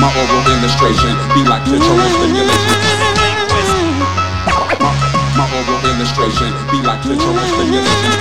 My oral illustration be like clitoral stimulation. My oral illustration be like clitoral stimulation.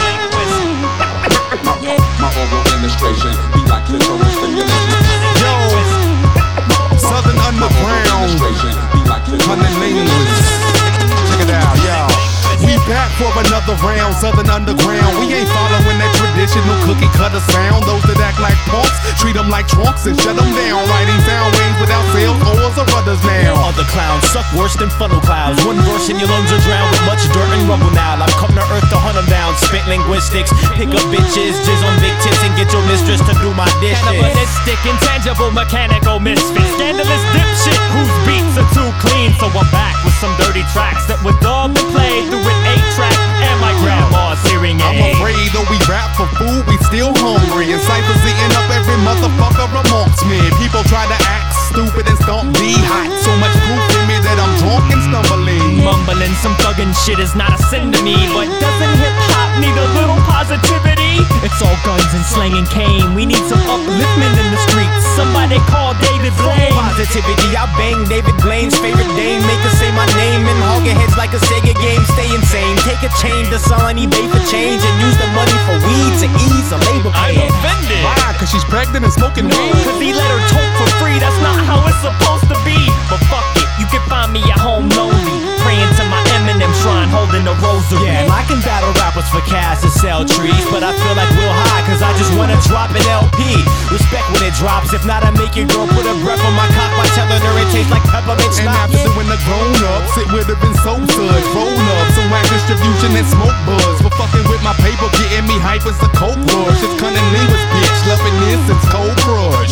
My oral illustration be like clitoral stimulation. Yo, Southern Underground, cunning linguist. Check it out, yo. We back for another round, Southern Underground. We ain't following that traditional cookie cutter sound. Those that act like punks, treat them like trunks and shut them down. Writing sound waves without sales, oars or rudders now. Other clowns suck worse than funnel clouds. One verse and your lungs are drowned with much dirt and rubble now. I've come to earth to hunt them down. Spit linguistics, pick up bitches, jizz on big tits and get your mistress to do my dishes. Cannibalistic, intangible, mechanical misfit. Scandalous dipshit whose beats are too clean. So I'm back with some dirty tracks that were dubbed and played through an 8-track and my grandma's hearing aid. I'm afraid though we rap for food, we still hungry. And ciphers eating up every motherfucker amongst me. People try to act stupid and stomp me hot. So much proof in me that I'm drunk and stumbling. Mumbling some thuggin' shit is not a sin to me. But doesn't hip-hop need a little positivity? It's all guns and slang and cane. We need some upliftment in the streets. Somebody call David Blaine. Positivity, I bang David Blaine's favorite dame. Make her say my name and hog her heads like a Sega game. Stay insane, take a chain to sell on eBay for change and use the money for weed to ease a labor pain. I'm offended. Why? Cause she's pregnant and smoking weed. Cause he let her talk for free, that's not how it's supposed to be. But fuck it, you can find me at home lonely, praying to my Eminem shrine, holding a rosary. Yeah, I can battle rappers for cash to sell trees, but I feel like Will High, cause I just wanna drop an LP. Respect when it drops, if not I make your girl put a breath on my cock by telling her it tastes like peppermint And schnapps. after doing the grown-ups, it would've been so good. Roll-up, some whack distribution and smoke buzz. For fucking with my paper, getting me hype as a coke rush. It's cunning linguist, bitch, loving this, it's Cold Crush.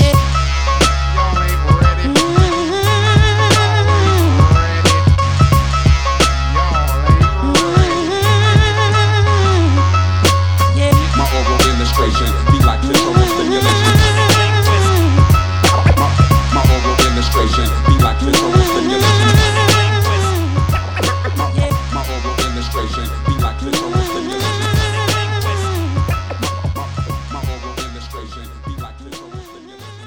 Be like clitoral stimulation. My oral illustration be like clitoral stimulation. My oral illustration be like clitoral stimulation. My oral illustration be like clitoral stimulation.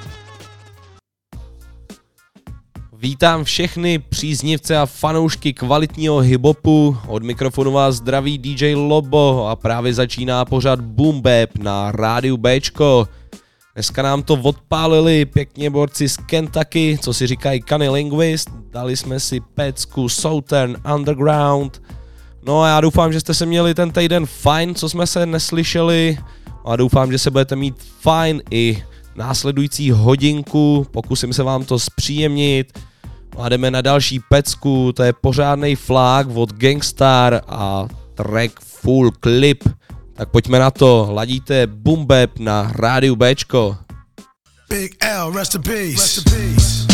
Vítám všechny příznivce a fanoušky kvalitního hip-hopu, od mikrofonu vás zdraví DJ Lobo a právě začíná pořad Boom Bap na rádiu Bčko. Dneska nám to odpálili pěkně borci z Kentucky, co si říkají Cunning Linguist, dali jsme si pecku Southern Underground. No a já doufám, že jste se měli ten týden fajn, co jsme se neslyšeli, a doufám, že se budete mít fajn i následující hodinku, pokusím se vám to zpříjemnit. A jdeme na další pecku, to je pořádnej flák od Gangstar a track Full Clip. Tak pojďme na to, ladíte Boom Bap na rádiu Bčko. Big L, rest in peace. Rest in peace.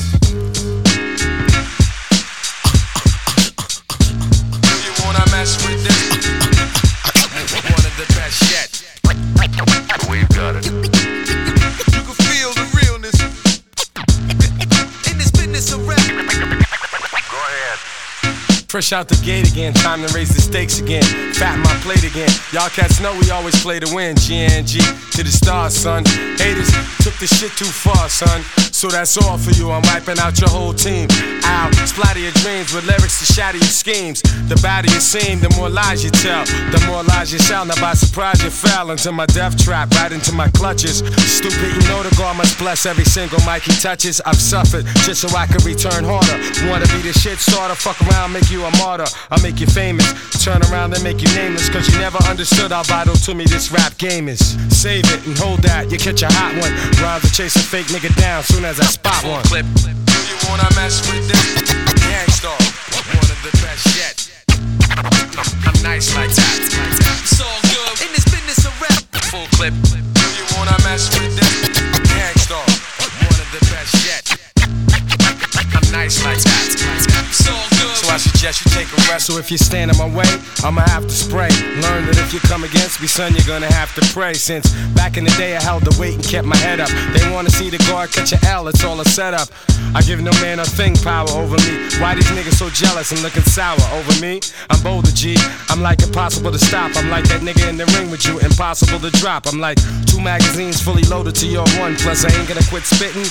You wanna mess with this? One of the best yet. We've got it. You can feel the realness. In this business of rap. Go ahead. Fresh out the gate again, time to raise the stakes again. Fat my plate again. Y'all cats know we always play to win. GNG to the stars, son. Haters took the shit too far, son. So that's all for you. I'm wiping out your whole team. I'll splatter your dreams with lyrics to shatter your schemes. The badder you seem, the more lies you tell. The more lies you shall. Now by surprise you fell into my death trap, right into my clutches. Stupid, you know the God must bless every single mic he touches. I've suffered just so I could return harder. Wanna be the shit starter, fuck around, make you a martyr. I'll make you famous, turn around and make you nameless. Cause you never understood how vital to me this rap game is. Save it and hold that, you catch a hot one. Rhymes to chase a fake nigga down soon as I spot one. Clip. Do you wanna mess with this? Gangstar, one of the best yet. I'm nice like that. It's all good in this business of rap. Full clip. Do you wanna mess with this? Gangstar, one of the best yet. I'm nice like that. It's all good. So I suggest you take a rest. So if you stand in my way, I'ma have to spray. Learn that if you come against me, son, you're gonna have to pray. Since back in the day I held the weight and kept my head up. They wanna see the guard catch a L, it's all a setup. I give no man a thing power over me. Why these niggas so jealous and looking sour over me? I'm bolder, G. I'm like impossible to stop. I'm like that nigga in the ring with you, impossible to drop. I'm like 2 magazines fully loaded to your 1. Plus I ain't gonna quit spitting.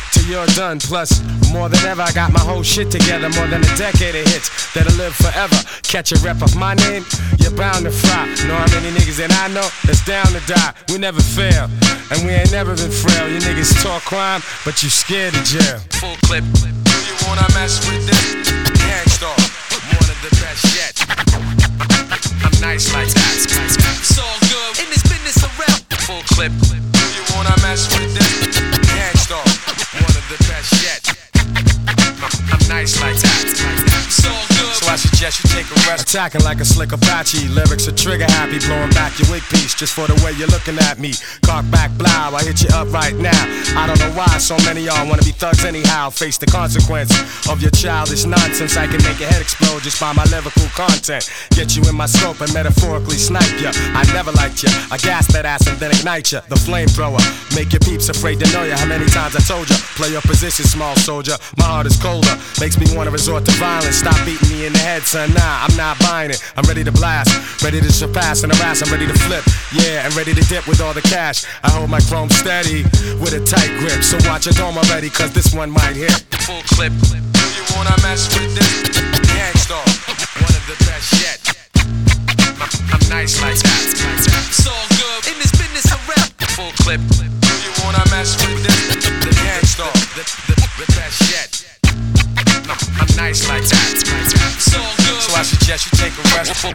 till you're done. Plus, more than ever, I got my whole shit together. More than a decade of hits that'll live forever. Catch a rep of my name, you're bound to fry. Know how many niggas that I know that's down to die. We never fail, and we ain't never been frail. You niggas talk crime, but you scared of jail. Full clip. Do you wanna mess with this? Gangstar, one of the best yet. I'm nice like that. It's all good in this business around. Full clip. Do you wanna mess with this? Gangstar, one of the best yet. I'm nice like that. It's all good. So I suggest you take a rest. Attacking like a slick Apache. Lyrics are trigger happy. Blowing back your wig piece just for the way you're looking at me. Cock back, blow. I hit you up right now. I don't know why so many y'all wanna be thugs anyhow. Face the consequence of your childish nonsense. I can make your head explode just by my lyrical content. Get you in my scope and metaphorically snipe ya. I never liked ya. I gas that ass and then ignite ya. The flamethrower. Make your peeps afraid to know ya. How many times I told ya? Play your position, small soldier. My heart is colder. Makes me wanna resort to violence. Stop beating me in the head, son. Nah, I'm not buying it. I'm ready to blast. Ready to surpass and harass. I'm ready to flip. Yeah, and ready to dip with all the cash. I hold my chrome steady with a tight grip. So watch your dome already, cause this one might hit. Full clip. Do you wanna mess with this? Gangstar, one of the best yet. I'm nice like that. It's all good in this business around. Full clip. Do you wanna mess with this? The Gangstar, the best yet. I'm nice like that. It's all good. So I suggest you take a rest. Full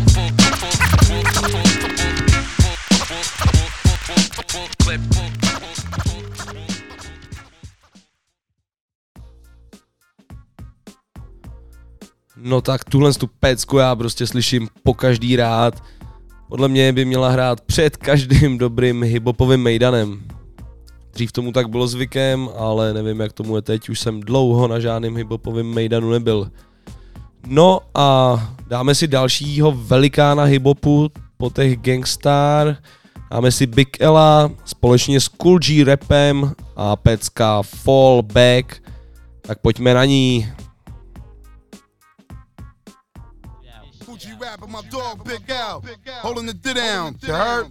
clip. No tak tuhle tu pecku já prostě slyším po každý rád. Podle mě by měla hrát před každým dobrým hiphopovým mejdanem. Dřív tomu tak bylo zvykem, ale nevím jak tomu je teď, už jsem dlouho na žádným hiphopovým mejdanu nebyl. No a dáme si dalšího velikána hiphopu po těch Gangstar. Dáme si Big Ella společně s Kool G Rapem a pecka Fall Back. Tak pojďme na ní. Rapper, my dog, Big L, holding the down. You heard?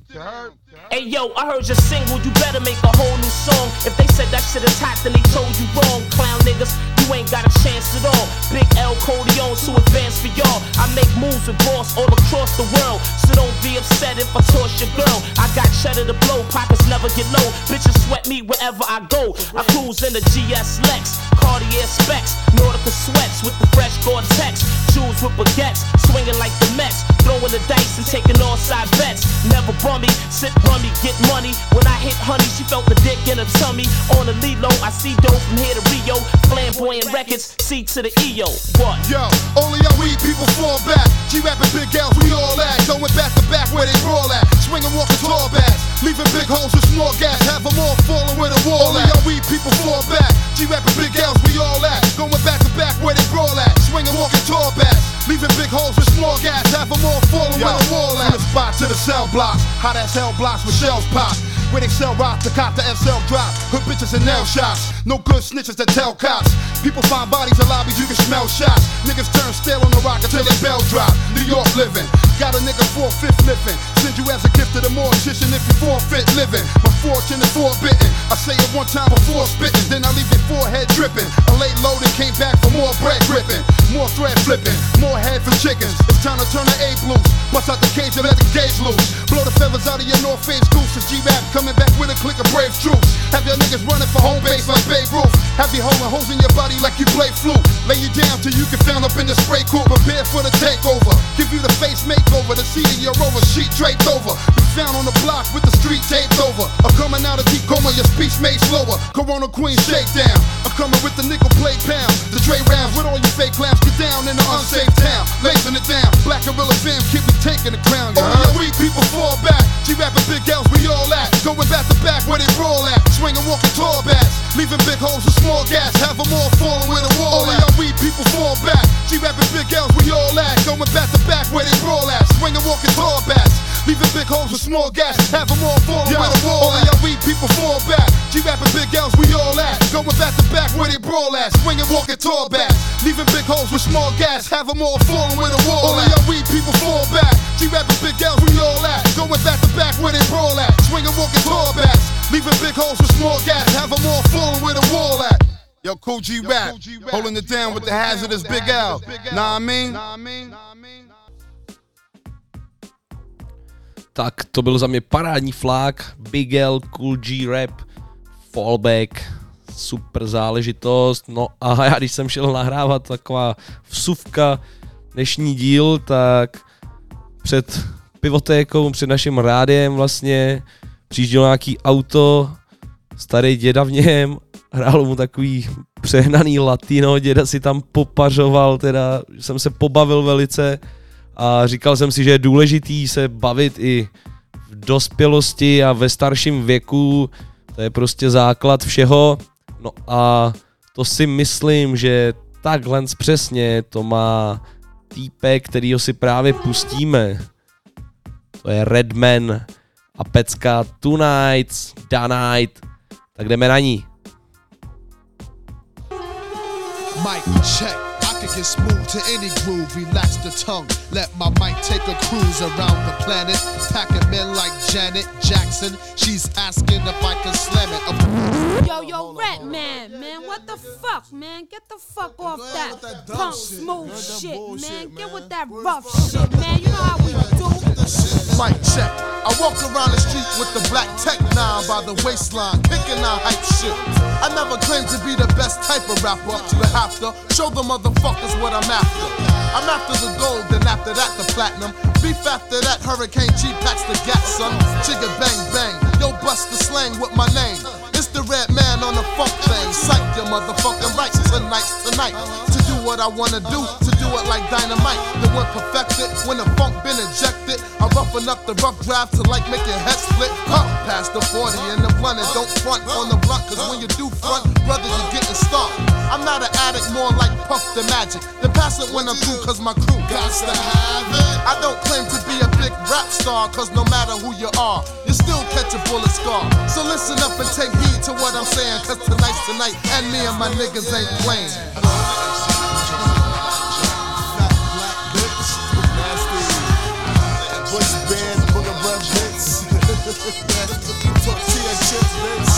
Hey yo, I heard your single, you better make a whole new song. If they said that shit is hot, then they told you wrong. Clown niggas, you ain't got a chance at all. Big L Codeon, too advanced for y'all. I make moves with boss all across the world. So don't be upset if I toss your girl. I got cheddar to blow, pockets never get low. Bitches sweat me wherever I go. I cruise in the GS Lex, Cartier specs, Nautica sweats with the fresh Gore-Tex. Shoes with baguettes, swinging like the Mets. Throwing the dice and taking all side bets. Never bummy, sit rummy, get money. When I hit honey, she felt the dick in her tummy. On the Lilo, I see dope from here to Rio. Flamboyant records, C to the EO. What? Yo, only our weed people fall back. G-rapping Big L's, we all at. Going back to back where they brawl at. Swinging, walking tall bats. Leaving big holes with small gas. Have them all falling where the wall at. Only our weed people fall back. G-rapping Big L's, we all at. Going back to back where they brawl at. Swinging, walking tall bats. Leaving big holes with small gas. Have them all falling where the wall at. From the spot to the cell blocks. Hot ass hell blocks with shells pop. Where they sell rock to cop the SL drop. Hood bitches and nail shops. No good snitches that tell cops. People find bodies in lobbies, you can smell shots. Niggas turn stale on the rock until their bell drop. New York living. Got a nigga 4/5 living. Send you as a gift to the mortician if you forfeit living. My fortune is forbidden. I say it one time before spitting, then I leave your forehead dripping. I laid low and came back for more bread gripping. More thread flipping. More head for chickens. It's time to turn the A loose. Bust out the cage and let the gauge loose. Blow the feathers out of your North Face gooses. G-Rap coming back with a click of brave troops. Have your niggas running for home base like Babe Ruth. Have you holding holes in your body like you play flute. Lay you down till you get found up in the spray cool. Prepare for the takeover. Give you the face makeover. The seat of your rover sheet draped over. You found on the block with the street taped over. I'm coming out of deep coma, your speech made slower. Corona Queen shakedown. I'm coming with the nickel plate pound. The Dre rounds with all you fake clowns. Get down in the unsafe town. Lacing it down. Black Gorilla fam, keep me taking the crown. Only your weak people fall back. G-rapping Big L's, we all at. Going back to back where they brawl at. Swinging, walking tall bats. Leaving big holes with small gas. Have them all falling where the wall at. Only our weak people fall back. G-rapping Big L's, we all at. Going back to back where they brawl at. Swinging, walking tall bats. Leaving big holes with small gas. Have them all falling where the wall at. Only our weak people fall back. G-rapping Big L's, we all at. Going back to back where they brawl at. Swinging, walking tall bats. Leaving big holes with small gas. Have them all falling where the wall at. Only our weak people fall back. G-rapping Big L's, we all at. Going back to back where they brawl at. Swinging, walking tall bats. Leaving big holes with small gaps, have them all falling where the wall at. Yo, Cool G Rap, holding it down with the hazardous Big L. Nah, I mean? Tak to byl za mě parádní flák, Big L, Cool G Rap, Fallback, super záležitost. No a já když jsem šel nahrávat taková vsuvka dnešní díl, tak před pivotékou, před naším rádiem vlastně přijíždělo nějaký auto, starý děda v něm, hrálo mu takový přehnaný latino, děda si tam popařoval, teda jsem se pobavil velice a říkal jsem si, že je důležitý se bavit i v dospělosti a ve starším věku, to je prostě základ všeho. No a to si myslím, že takhle přesně to má týpek, kterýho si právě pustíme. To je Redman a pecka Tonight's Da Night. Tak jdeme na ní. Mic check, I can get smooth to any groove, relax the tongue, let my mic take a cruise around the planet, packing men like Janet Jackson, she's asking if I can slam it. Yo, Redman, man, what the fuck, man, get the fuck off that punk smooth shit, man, get with that rough shit, man, you know how we do. Mic check, I walk around the street with the black Tech 9 by the waistline, kicking out hype shit. I never claimed to be the best type of rapper, but have to show the motherfuckers what I'm after. I'm after the gold, then after that the platinum. Beef after that, Hurricane G packs the gas, son. Chigga bang bang, yo bust the slang with my name. It's the red man on the funk thing. Psych your motherfucking rights tonight. To do what I wanna do, to do it like dynamite. Then when perfected, when the funk been injected, I roughen up the rough draft to like make your head split. Past the 40 and the blunt, and don't front on the blunt, cause when you do front, brother, you getting started. I'm not an addict, more like Puff the Magic. Then pass it when I'm through, cause my crew got to have it. I don't claim to be a big rap star, cause no matter who you are, you still catch a bullet scar. So listen up and take heed to what I'm saying, cause tonight's tonight, and me and my niggas ain't playing. Tortilla chips, bitch.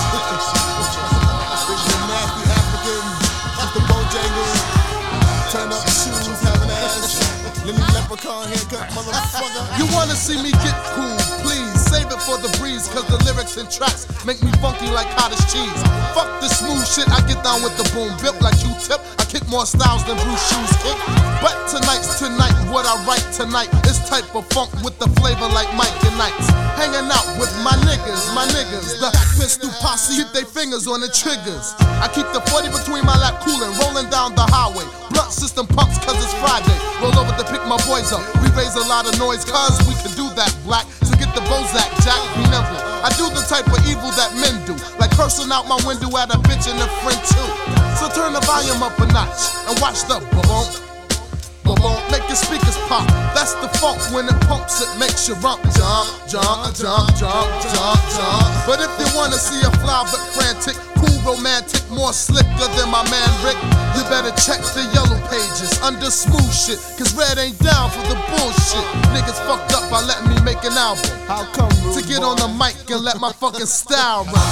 Nasty African, the Bojangles. Turn up the shoes, have an ass. Let me leprechaun haircut, motherfucker. You wanna see me get cool, please save it for the breeze, cause the lyrics and tracks make me funky like cottage cheese. Fuck the smooth shit, I get down with the boom, built like Q-tip. I kick more styles than Bruce Shoes kick. But tonight's tonight, what I write tonight is type of funk with the flavor like Mike and Knights. Hanging out with my niggas, the pistol posse, keep their fingers on the triggers. I keep the 40 between my lap coolin', rolling down the highway. Blunt system pumps cause it's Friday. Roll over to pick my boys up. We raise a lot of noise cause we can do that, black. So get the Bozak, Jack, be nimble. I do the type of evil that men do, like cursing out my window at a bitch and a friend too. So turn the volume up a notch and watch the boom. Make your speakers pop. That's the funk when it pumps, it makes you rump. Jump. But if you wanna see a fly but frantic, cool, romantic, more slicker than my man Rick, you better check the yellow pages under smooth shit, cause Red ain't down for the bullshit. Niggas fucked up by letting me make an album. How come, to get on the mic and let my fucking style run.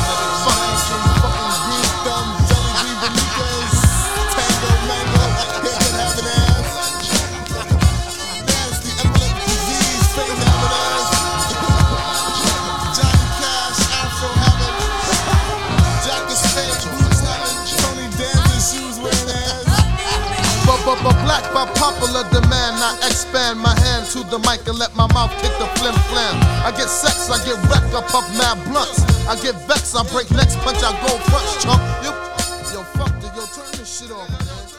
But black by popular demand, I expand my hand to the mic and let my mouth kick the flim flam. I get sex, I get wrecked, I puff mad blunts. I get vexed, I break necks, punch, I go front, chump. Yo, fuck it, yo, turn this shit off, man.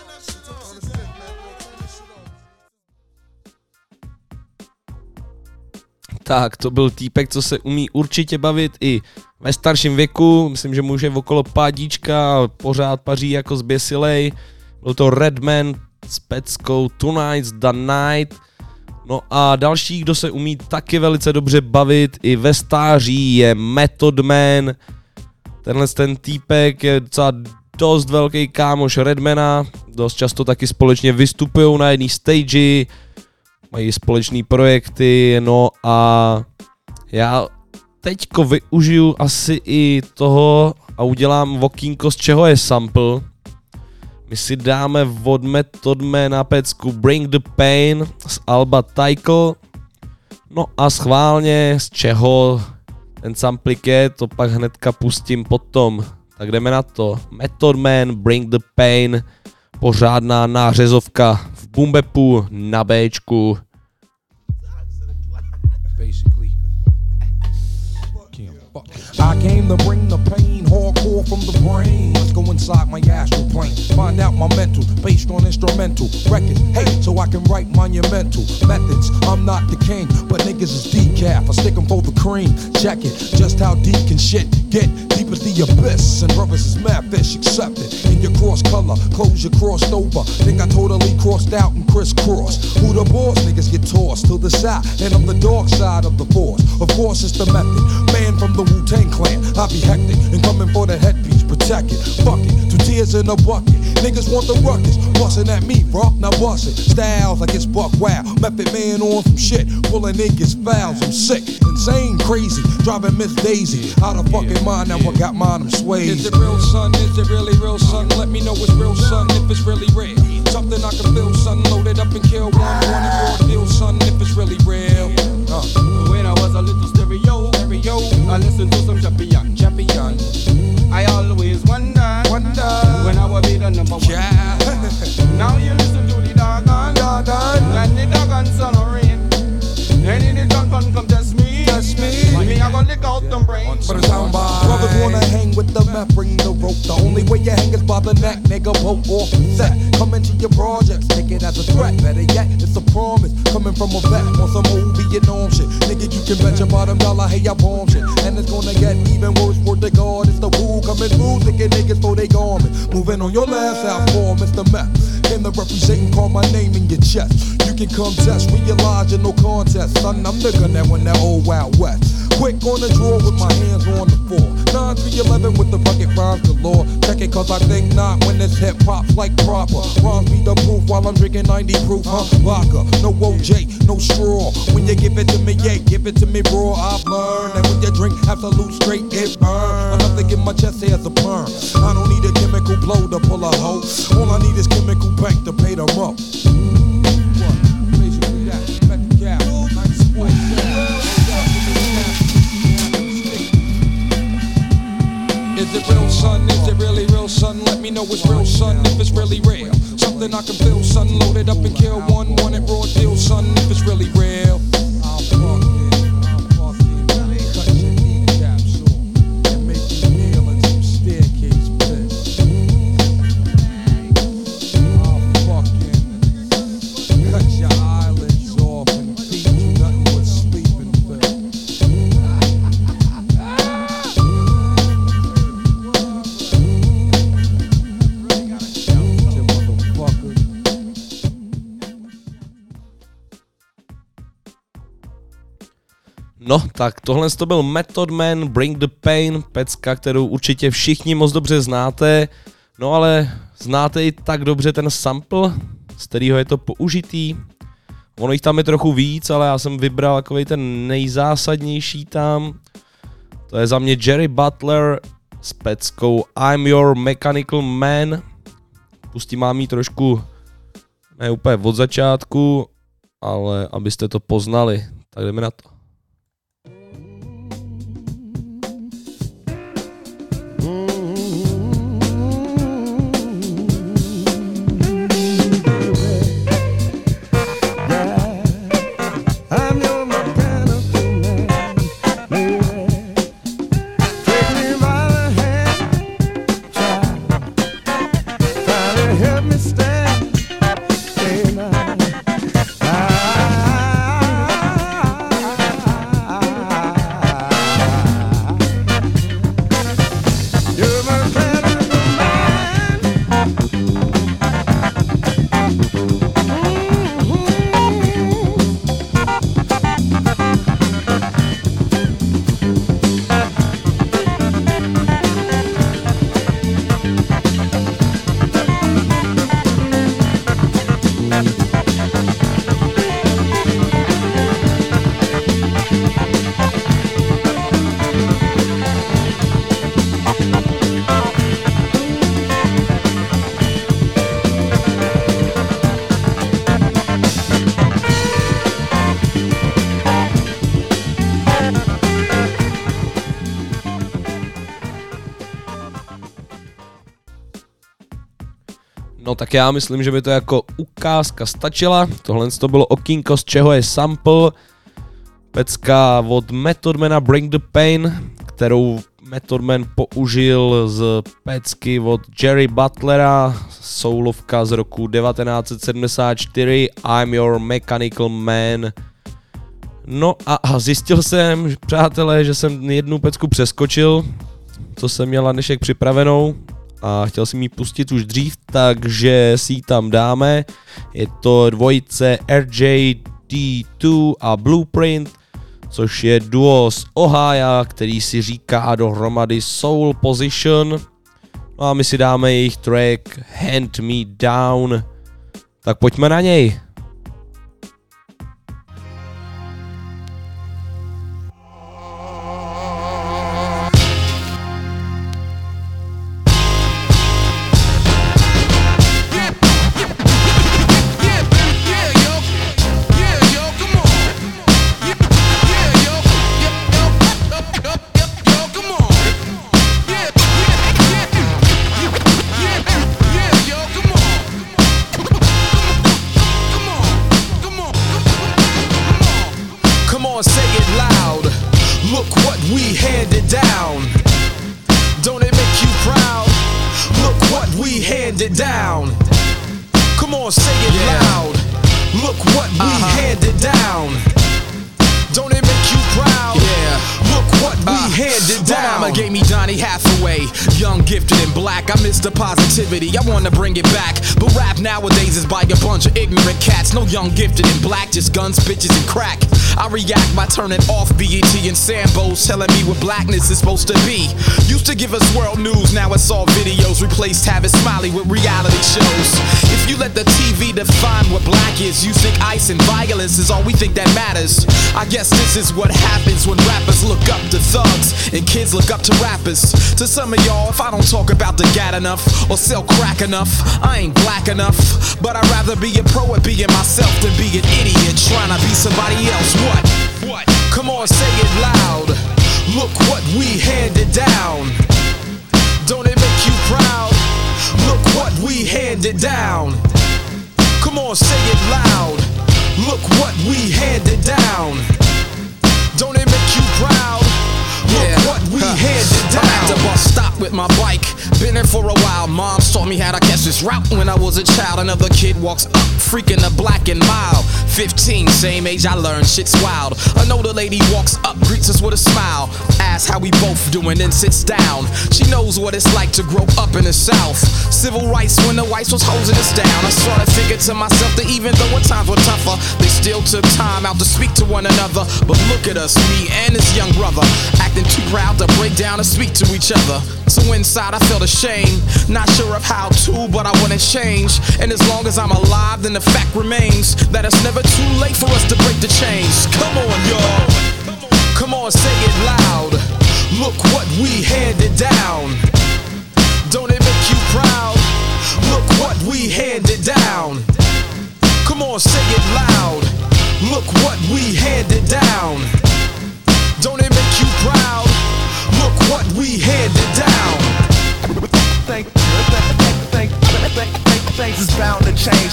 Tak, to byl týpek, co se umí určitě bavit i ve starším věku. Myslím, že může okolo pádíčka a pořád paří jako zběsilej. Byl to Redman s peckou Tonight's Da Night. No a další, kdo se umí taky velice dobře bavit i ve stáří, je Method Man. Tenhle ten týpek je docela dost velký kámoš Redmana. Dost často taky společně vystupují na jedné stage, mají společné projekty, no a já teďko využiju asi i toho a udělám okýnko, z čeho je sample. My si dáme od Method Mana pecku Bring the Pain z alba Tycho. No a schválně z čeho ten samplik je, to pak hnedka pustím potom. Tak jdeme na to. Method Man, Bring the Pain, pořádná nářezovka v boombapu na Bčku. I came to bring the pain, hardcore from the brain. Let's go inside my astral plane, find out my mental, based on instrumental records. Hey, so I can write monumental methods. I'm not the king, but niggas is decaf. I stick 'em for the cream. Check it, just how deep can shit get? Deep as the abyss, and brothers is mad fish, accept it. In your cross color, clothes you crossed over. Think I totally crossed out and crisscrossed. Who the boss? Niggas get tossed to the side, and I'm the dark side of the force. Of course it's the method, man from the Wu-Tang Clan. I be hectic and coming for the headpiece, protect it. Fuck it, 2 tears in a bucket. Niggas want the ruckus, bustin' at me, bro. Now bust it. Styles like it's buck wild. Method man on some shit, pulling niggas fouls. I'm sick, insane, crazy, driving Miss Daisy out of fucking mind. Now I got mine, I'm swayed. Is it real, son? Is it really real, son? Let me know it's real, son. If it's really real, something I can feel, son. Load it up and kill one. Want it raw deal, son. If it's really real. When I was a little stereo, I listened to some champion. I always wonder when I will be the number one. Yeah. Now you listen to the doggone, and the doggone son of rain. And the doggone come test me. Me, I gonna lick out them brains. But it's how brothers wanna hang with the meth, bring the rope. The only way you hang is by the neck, nigga. Boat off set. Come into your projects, take it as a threat. Better yet, it's a promise. Coming from a vet on some old Vietnam shit. Nigga, you can bet your bottom dollar, hey, I bomb shit. And it's gonna get even worse for the God. It's the woo coming through, thinking niggas for they garment. Moving on your last out for Mr. Meth. Came to represent and call my name in your chest. You can come test, realize you're no contest. Son, I'm the gun that won that old Wild West. Quick on the draw with my hands on the floor. 9-3-11 with the bucket rhymes galore. Check it cause I think not when this hip hop's like proper. Rhymes be the proof while I'm drinking 90 proof, huh? Vodka, no OJ, no straw. When you give it to me, yeah, give it to me raw. I've learned that when you drink absolute straight, it burn. Enough to get my chest hair as a perm. I don't need a chemical blow to pull a hoe. All I need is chemical bank to pay them up. Is it real, son? Is it really real, son? Let me know it's real, son, if it's really real. Something I can feel, son. Load it up and kill one. Want it raw deal, son, if it's really real. I'll fuck it. Cut your kneecaps off and make you kneel in some staircase pit. I'll fucking cut your eyelids off and feed you nothing but sleeping pills. No, tak tohle to byl Method Man, Bring the Pain, pecka, kterou určitě všichni moc dobře znáte, no ale znáte i tak dobře ten sample, z kterého je to použitý. Ono jich tam je trochu víc, ale já jsem vybral takovej ten nejzásadnější tam. To je za mě Jerry Butler s peckou I'm Your Mechanical Man. Pustím vám ji trošku, ne úplně od začátku, ale abyste to poznali, tak jdeme na to. No tak já myslím, že by to jako ukázka stačila. Tohle to bylo okýnko, z čeho je sample. Pecka od Method Mana Bring the Pain, kterou Method Man použil z pecky od Jerry Butlera, soulovka z roku 1974, I'm Your Mechanical Man. No a zjistil jsem, přátelé, že jsem jednu pecku přeskočil, co jsem měl na dnešek připravenou a chtěl jsem ji pustit už dřív, takže si ji tam dáme. Je to dvojice RJD2 a Blueprint, což je duo z Ohio, který si říká dohromady Soul Position. No a my si dáme jejich track Hand Me Down. Tak pojďme na něj. I wanna bring it back, but rap nowadays is by a bunch of ignorant cats. No young gifted in black, just guns, bitches, and crack. I react by turning off BET and Sambos, telling me what blackness is supposed to be. Used to give us world news, now it's all videos. Replaced Tavis Smiley with reality shows. If you let the TV define what black is, you think ice and violence is all we think that matters. I guess this is what happens when rappers look up to thugs and kids look up to rappers. To some of y'all, if I don't talk about the gat enough or sell crack enough, I ain't black enough. But I'd rather be a pro at being myself than be an idiot trying to be somebody else. What? Come on, say it loud. Look what we handed down. Don't it make you proud? Look what we handed down. Come on, say it loud. Look what we handed down. Don't it make you proud? Look what we handed down. I'm at the bus stop with my bike. Been there for a while. Moms taught me how to catch this route when I was a child. Another kid walks up, freaking a black and mild. 15, same age, I learned shit's wild. An older lady walks up, greets us with a smile, asks how we both doing, then sits down. She knows what it's like to grow up in the South. Civil rights when the whites was hosing us down. I started thinking to myself that even though at times were tougher, they still took time out to speak to one another. But look at us, me and his young brother, acting too proud to break down and speak to each other. So inside I felt ashamed, not sure of how to, but I wouldn't change. And as long as I'm alive, then the fact remains that it's never too late for us to break the chains. Come on, y'all. Come on, say it loud. Look what we handed down. Don't it make you proud? Look what we handed down. Come on, say it loud. Look what we handed down. Don't it make you proud? Look what we handed down. Things is bound to change.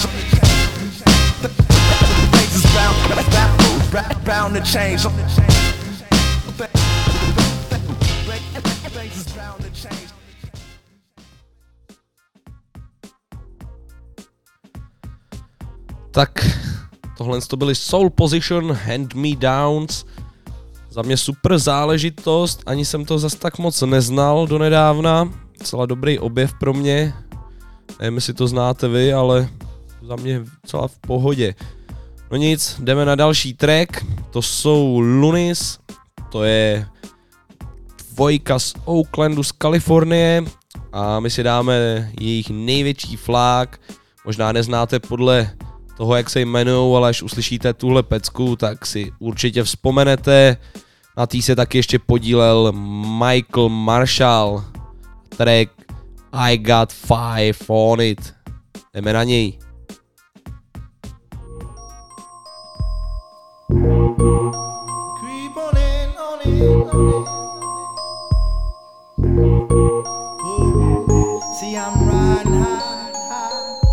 Things is bound to change. Tak, tohle to byly Soul Position, Hand Me Downs. Za mě super záležitost, ani jsem to zas tak moc neznal donedávna. Celá dobrý objev pro mě. Nevím, jestli to znáte vy, ale za mě celá v pohodě. No nic, jdeme na další track. To jsou Lunis. To je dvojka z Oaklandu z Kalifornie. A my si dáme jejich největší flák. Možná neznáte podle toho, jak se jmenujou, ale až uslyšíte tuhle pecku, tak si určitě vzpomenete. Na tý se taky ještě podílel Michael Marshall. Track I Got Five on It. Jdeme na něj. Creep on in, on it, on it. Ooh. See, I'm riding high, high.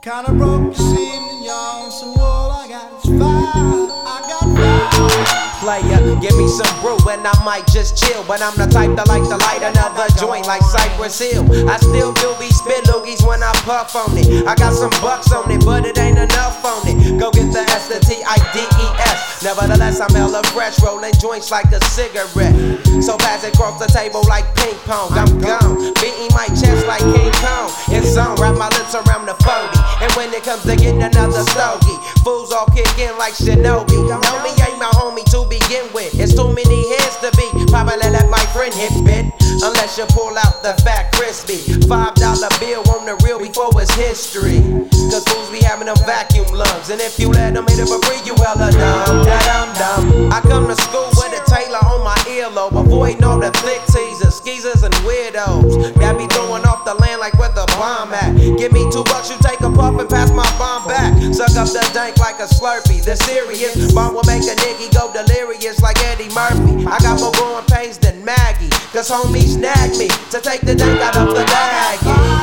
Kinda broke this evening, y'all, so all I got is fire. I got fire. Player, give me some brew and I might just chill. But I'm the type that like to light another joint like Cypress Hill. I still do be spit loogies when I puff on it. I got some bucks on it, but it ain't enough on it. Go get the S, the T-I-D-E-S. Nevertheless, I'm hella fresh, rolling joints like a cigarette. So pass it across the table like ping pong. I'm gone, beating my chest like King Kong. It's on, wrap my lips around the 40. And when it comes to getting another stogie, fools all kick in like Shinobi. Know me ain't my homie to begin with. It's too many heads to be. Probably let my friend hit bit. Unless you pull out the fat crispy $5 bill on the real before it's history. Cause fools be having them vacuum lungs. And if you let them hit it for free, you hella dumb. I come to school with a Taylor on my earlobe, avoiding all the flick teasers, skeezers and weirdos. Got me throwing off the land like where the bomb at. Give me $2, you take a puff and pass my bomb back. Suck up the dank like a Slurpee. The serious bomb will make a nigga go delirious like Eddie Murphy. I got more growing pains than Maggie, cause homies snagged me to take the dank out of the bag.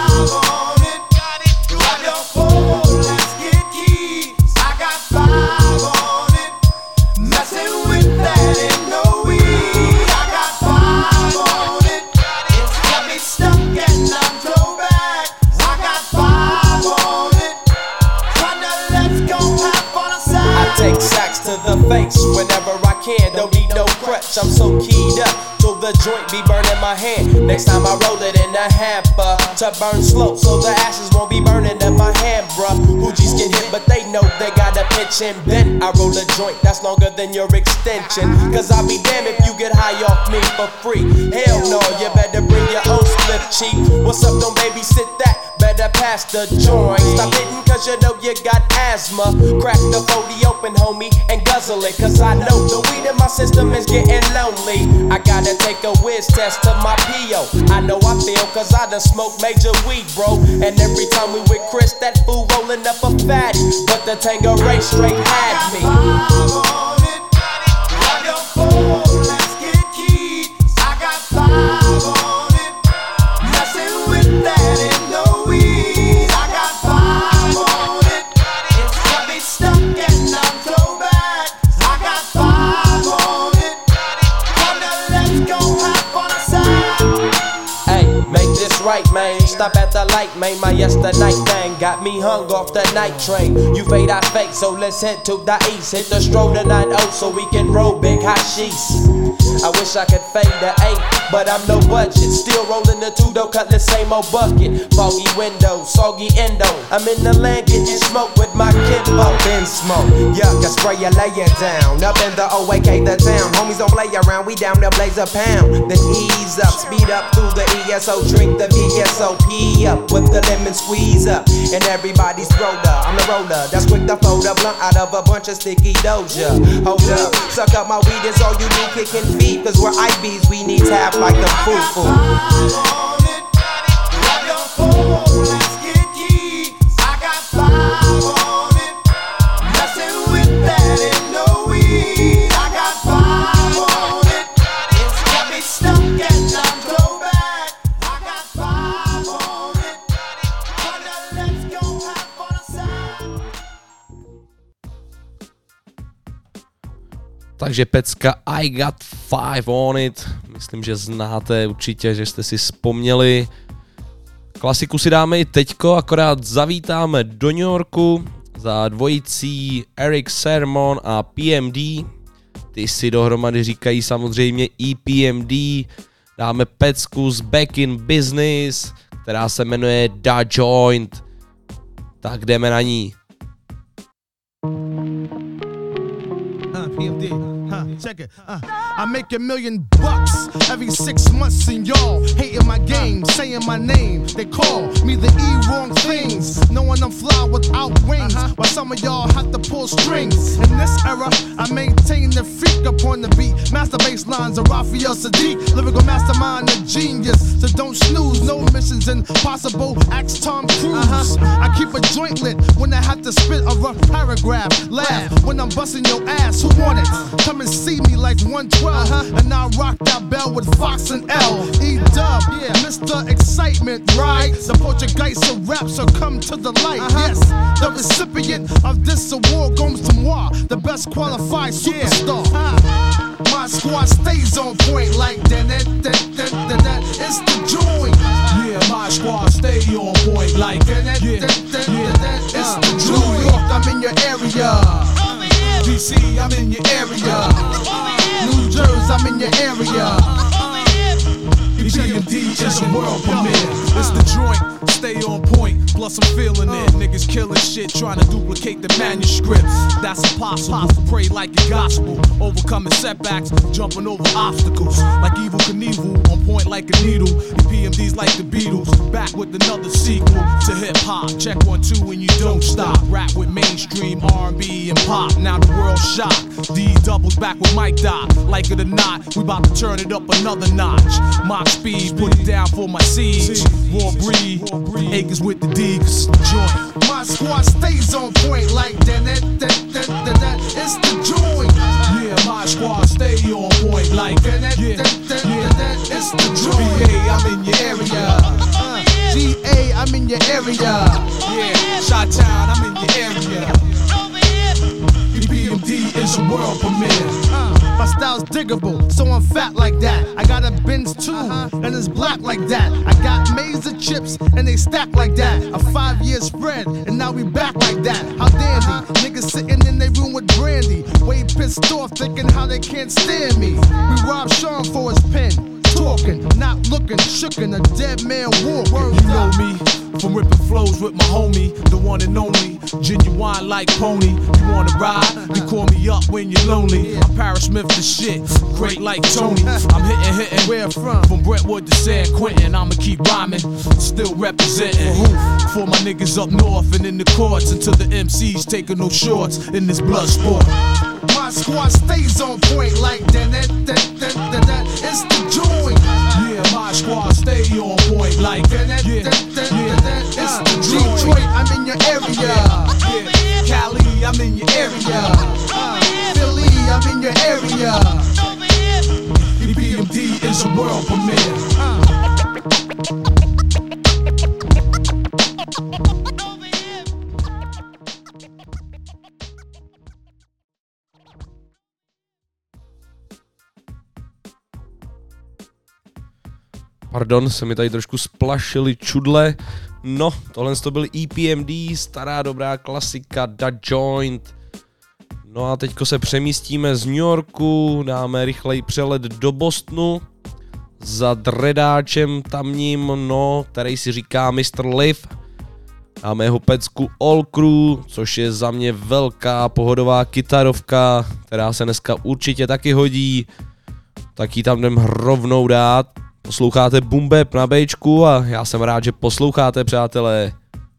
Whenever I can, don't need no crutch, I'm so keyed up till the joint be burning my hand. Next time I roll it in a hamper to burn slow, so the ashes won't be burning in my hand, bruh. Hoogies get hit, but they know they gotta pitch and bend. I roll a joint that's longer than your extension, cause I'll be damned if you get high off me for free. Hell no, you better bring your own split cheek. What's up, don't babysit that? Better pass the joint. Stop hitting cause you know you got asthma. Crack the 40 open, homie, and guzzle it, cause I know the weed in my system is getting lonely. I gotta take a whiz test to my P.O. I know I feel cause I done smoked major weed, bro. And every time we with Chris, that fool rolling up a fatty. But the Tangeray straight had me. Let's get keyed. I got 5 on it. Messing with that ain't no weed. I got 5 on it. It's got me stuck and I'm throwback. I got 5 on it. Let's go have on a side. Hey, make this right, man. Stop at the light, man. My yesterday thing got me hung off the night train. You fade, I fake, so let's head to the east. Hit the stroll to 9-0 so we can roll big hashish. I wish I could fade the 8, but I'm no budget. Still rolling the 2 though, cut the same old bucket. Foggy window, soggy endo. I'm in the land getting smoke with my kinfolk. Up in smoke, yuck, I spray you, lay it down. Up in the OAK, the town. Homies don't play around, we down there blaze a pound. Then ease up, speed up through the ESO. Drink the VSOP up with the lemon squeeze up. And everybody's roller, I'm the roller. That's quick to fold a blunt out of a bunch of sticky doja. Hold up, suck up my weed, it's all you do, kicking feet. Cause we're IBs, we need tap like a foo-foo. Let's get keyed. I got 5 on it. Messing with that ain't no weed. I got 5 on it. It's got me stuck and I'm throwback. I got 5 on it. Let's go have on a side. Takže pecka I Got 5 on it, myslím, že znáte určitě, že jste si vzpomněli. Klasiku si dáme i teďko, akorát zavítáme do New Yorku za dvojicí Eric Sermon a PMD. Ty si dohromady říkají samozřejmě EPMD. Dáme pecku z Back in Business, která se jmenuje Da Joint. Tak jdeme na ní. PMD, check it. I make $1 million every 6 months, and y'all hating my game, saying my name. They call me the wrong things, knowing I'm fly without wings. While some of y'all have to pull strings. In this era, I maintain the freak upon the beat. Master bass lines of Raphael Sadiq, lyrical mastermind, a genius. So don't snooze, no missions impossible. Ask Tom Cruise. I keep a joint lit when I have to spit a rough paragraph. Laugh when I'm busting your ass. Who want it? Come and see me like 112, and I'll rock that bell with Fox and L. E-Dub, yeah, Mr. the excitement, right? The Portuguese of rap, so come to the light. Yes, the recipient of this award goes to moi, the best qualified superstar. My squad stays on point like that. It's the joint. Yeah, my squad stay on point like that. It's the joint. New York, I'm in your area. DC, I'm in your area. New Jersey, I'm in your area. EPMD is a world premiere. It's the joint, stay on point, plus I'm feeling it. Niggas killing shit, trying to duplicate the manuscripts. That's impossible, pray like a gospel. Overcoming setbacks, jumping over obstacles. Like Evil Knievel, on point like a needle. EPMD's like the Beatles, back with another sequel to hip hop. Check 1, 2 and you don't stop. Rap with mainstream R&B and pop, now the world's shocked. D doubles back with Mike Dot, like it or not, we about to turn it up another notch. Mock speed, put it down for my seeds. Raw breed, acres with the D, cause it's the joint. My squad stays on point like that. It's the joint. Yeah, my squad stay on point like that. It's the joint. VA, I'm in your area. GA, I'm in your area. Yeah, Chi-Town, I'm in your area. EPMD is a world premiere. My style's diggable, so I'm fat like that. I got a Benz too, and it's black like that. I got maize of chips, and they stack like that. A 5-year spread, and now we back like that. How dandy, niggas sitting in their room with brandy. Way pissed off, thinking how they can't stand me. We robbed Sean for his pen. Talking, not looking, shookin', a dead man walking. You know me, from ripping flows with my homie, the one and only, genuine like Pony. You wanna ride? You call me up when you're lonely. I'm Paris Smith the shit, great like Tony. I'm hitting, where from? From Brentwood to San Quentin, I'ma keep rhyming, still representing. For my niggas up north and in the courts, until the MCs taking no shorts in this blood sport. My squad stays on point like that. It's the joint. Yeah, my squad stay on point like that. It's the joint. Detroit, I'm in your area. Cali, I'm in your area. Philly, I'm in your area. EPMD is a world premiere. Pardon, se mi tady trošku splašily čudle. No, tohle to byl EPMD, stará dobrá klasika, Da Joint. No a teďko se přemístíme z New Yorku, dáme rychlej přelet do Bostonu za dredáčem tamním, no, který si říká Mr. Liv. Dáme jeho pecku All Crew, což je za mě velká pohodová kytarovka, která se dneska určitě taky hodí. Tak ji tam jdem rovnou dát. Posloucháte Boom Bap na Bčku a já jsem rád, že posloucháte, přátelé.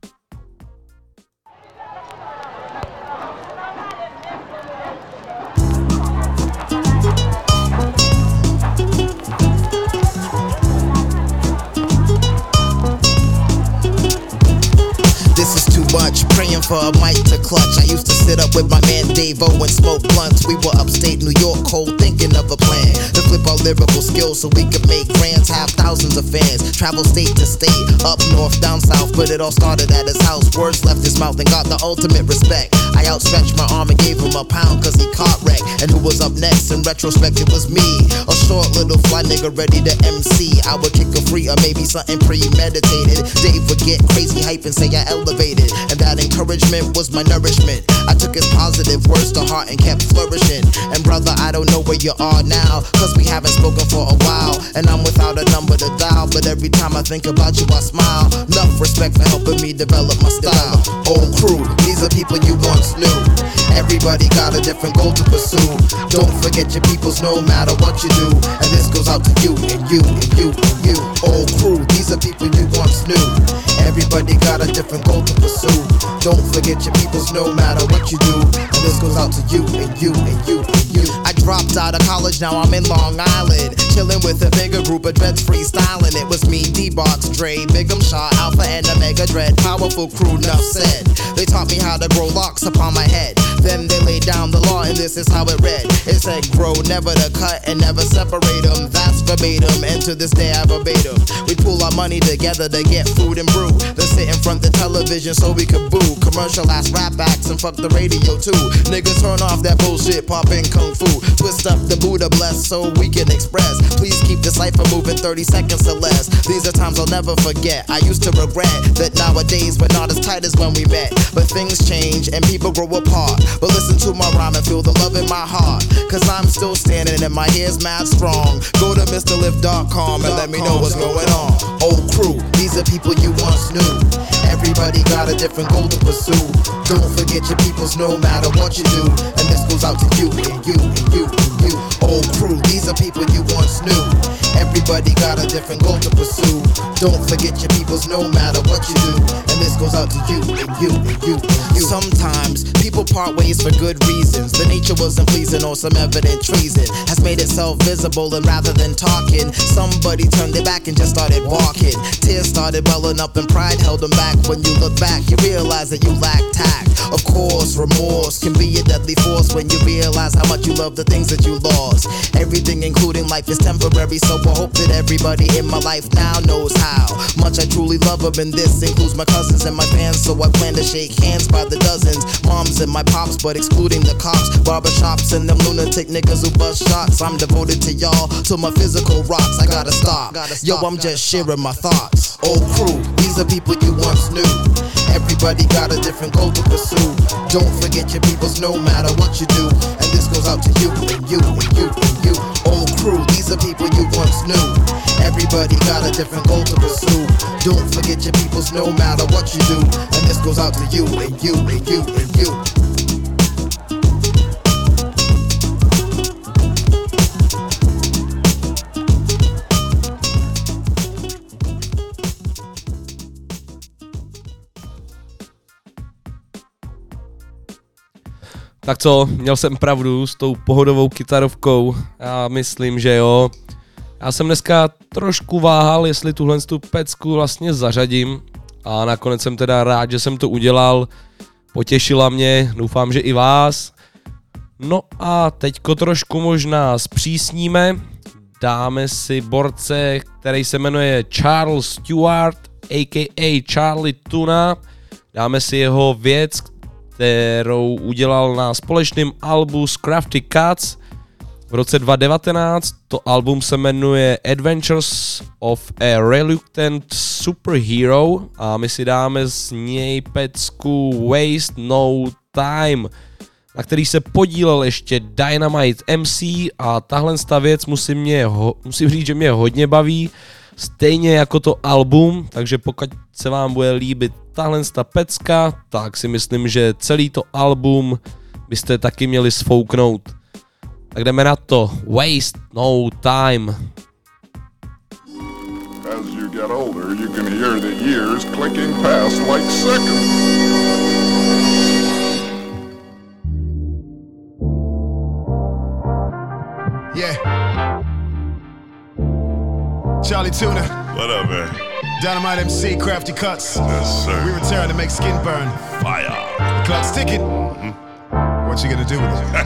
This is too much, praying for a mic to clutch. I used to sit up with my man Dave-O and smoke blunts. We were upstate New York, cold, thinking of a plan to flip our lyrical skills so we could make grands, have thousands of fans. Travel state to state, up north, down south, but it all started at his house. Words left his mouth and got the ultimate respect. I outstretched my arm and gave him a pound cause he caught wreck. And who was up next? In retrospect it was me, a short little fly nigga ready to MC. I would kick a free or maybe something premeditated. Dave would get crazy hype and say I elevated, and that encouragement was my nourishment. I took his positive words to heart and kept flourishing. And brother, I don't know where you are now, cause we haven't spoken for a while, and I'm without a number to dial. But every time I think about you I smile. Enough respect for helping me develop my style. Old crew, these are people you once knew. Everybody got a different goal to pursue. Don't forget your peoples no matter what you do. And this goes out to you and you and you and you. Old crew, these are people you once knew. Everybody got a different goal to pursue. Don't forget your peoples no matter what you do. And this goes out to you and you and you and you. I dropped out of college, now I'm in Long Island, chilling with a bigger group of dreads freestyling. It was me, D-Box, Dre, Big 'em Shaw, Alpha and Omega Dread. Powerful crew, enough said. They taught me how to grow locks upon my head. Then they laid down the law, and this is how it read. It said, grow, never to cut, and never separate them. That's verbatim, and to this day I verbatim. We pool our money together to get food and brew. Then sit in front the television so we could boo. Commercial ass rap acts and fuck the radio too. Niggas turn off that bullshit, pop in kung fu. Twist up the Buddha bless so we can express. Please keep the cipher moving 30 seconds or less. These are times I'll never forget. I used to regret that nowadays we're not as tight as when we met. But things change and people grow apart. But listen to my rhyme and feel the love in my heart. Cause I'm still standing and my hair's mad strong. Go to MrLift.com and let me know what's going on. Old crew, these are people you once knew. Everybody got a different goal to pursue. Don't forget your peoples no matter what you do. And this goes out to you and you and you and you. Old crew, these are people you once knew. Everybody got a different goal to pursue. Don't forget your peoples no matter what you do. And this goes out to you and you and you and you. Sometimes people part ways for good reasons. The nature wasn't pleasing or some evident treason has made itself visible, and rather than talking, somebody turned their back and just started walking. Tears started welling up and pride held them back. When you look back, you realize that you lack tact. Of course, remorse can be a deadly force when you realize how much you love the things that you lost. Everything including life is temporary, so I hope that everybody in my life now knows how much I truly love them, and this includes my cousins and my fans. So I plan to shake hands by the dozens, moms and my pops, but excluding the cops, barbershops and them lunatic niggas who bust shots. I'm devoted to y'all, to my physical rocks. I gotta stop. Yo, I'm just sharing my thoughts. Old crew, these are people you once knew. Everybody got a different goal to pursue. Don't forget your peoples no matter what you do. And this goes out to you and you and you and you. Old crew, these are people you once knew. Everybody got a different goal to pursue. Don't forget your peoples no matter what you do. And this goes out to you and you and you and you. Tak co, měl jsem pravdu s tou pohodovou kytarovkou, já myslím, že jo. Já jsem dneska trošku váhal, jestli tuhle pecku vlastně zařadím a nakonec jsem teda rád, že jsem to udělal, potěšila mě, doufám, že i vás. No a teďko trošku možná zpřísníme, dáme si borce, který se jmenuje Charles Stewart, a.k.a. Charlie Tuna, dáme si jeho věc, kterou udělal na společném albu z Crafty Cuts v roce 2019. To album se jmenuje Adventures of a Reluctant Superhero a my si dáme z něj pecku Waste No Time, na který se podílel ještě Dynamite MC a tahle věc musím říct, že mě hodně baví, stejně jako to album, takže pokud se vám bude líbit tahle pecka, tak si myslím, že celý to album byste taky měli sfouknout. Tak jdeme na to. Waste No Time. As you get older, you can hear the years clicking past like seconds. Yeah. Charlie Tuna. What up, man? Dynamite MC, Crafty Cuts. Yes, sir. We return to make skin burn. Fire. The clock's ticking. What you gonna do with it?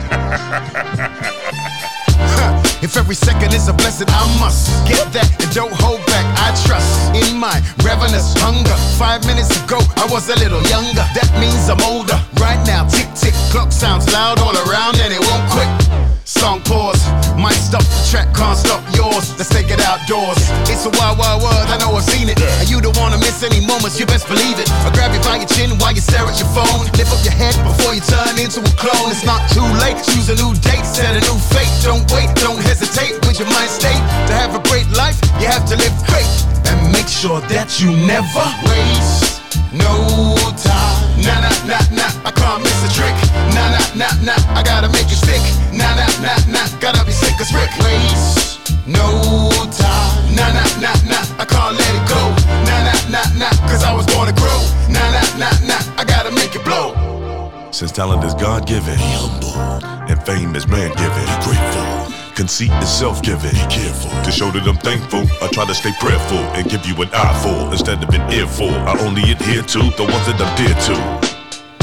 If every second is a blessing, I must get that and don't hold back. I trust in my ravenous hunger. 5 minutes ago, I was a little younger. That means I'm older. Right now, tick tick, clock sounds loud all around and it won't quit. Song pause, might stop the track, can't stop yours. Let's take it outdoors. It's a wild, wild world, I know I've seen it. And you don't wanna miss any moments, you best believe it. I'll grab you by your chin while you stare at your phone. Lift up your head before you turn into a clone. It's not too late, choose a new date, set a new fate. Don't wait, don't hesitate with your mind state. To have a great life, you have to live great. And make sure that you never waste no time. Nah, nah, nah, nah, I can't miss a trick. Nah, nah, nah, nah, I gotta make it stick. Nah, nah, nah, nah, gotta be sick as Rick. Waste no time. Nah, nah, nah, nah, I can't let it go. Nah, nah, nah, nah, cause I was born to grow. Nah, nah, nah, nah, I gotta make it blow. Since talent is God-given, be humble, and fame is man-given, be grateful. Conceit is self-giving, be careful. To show that I'm thankful, I try to stay prayerful and give you an eyeful instead of an earful. I only adhere to the ones that I'm dear to.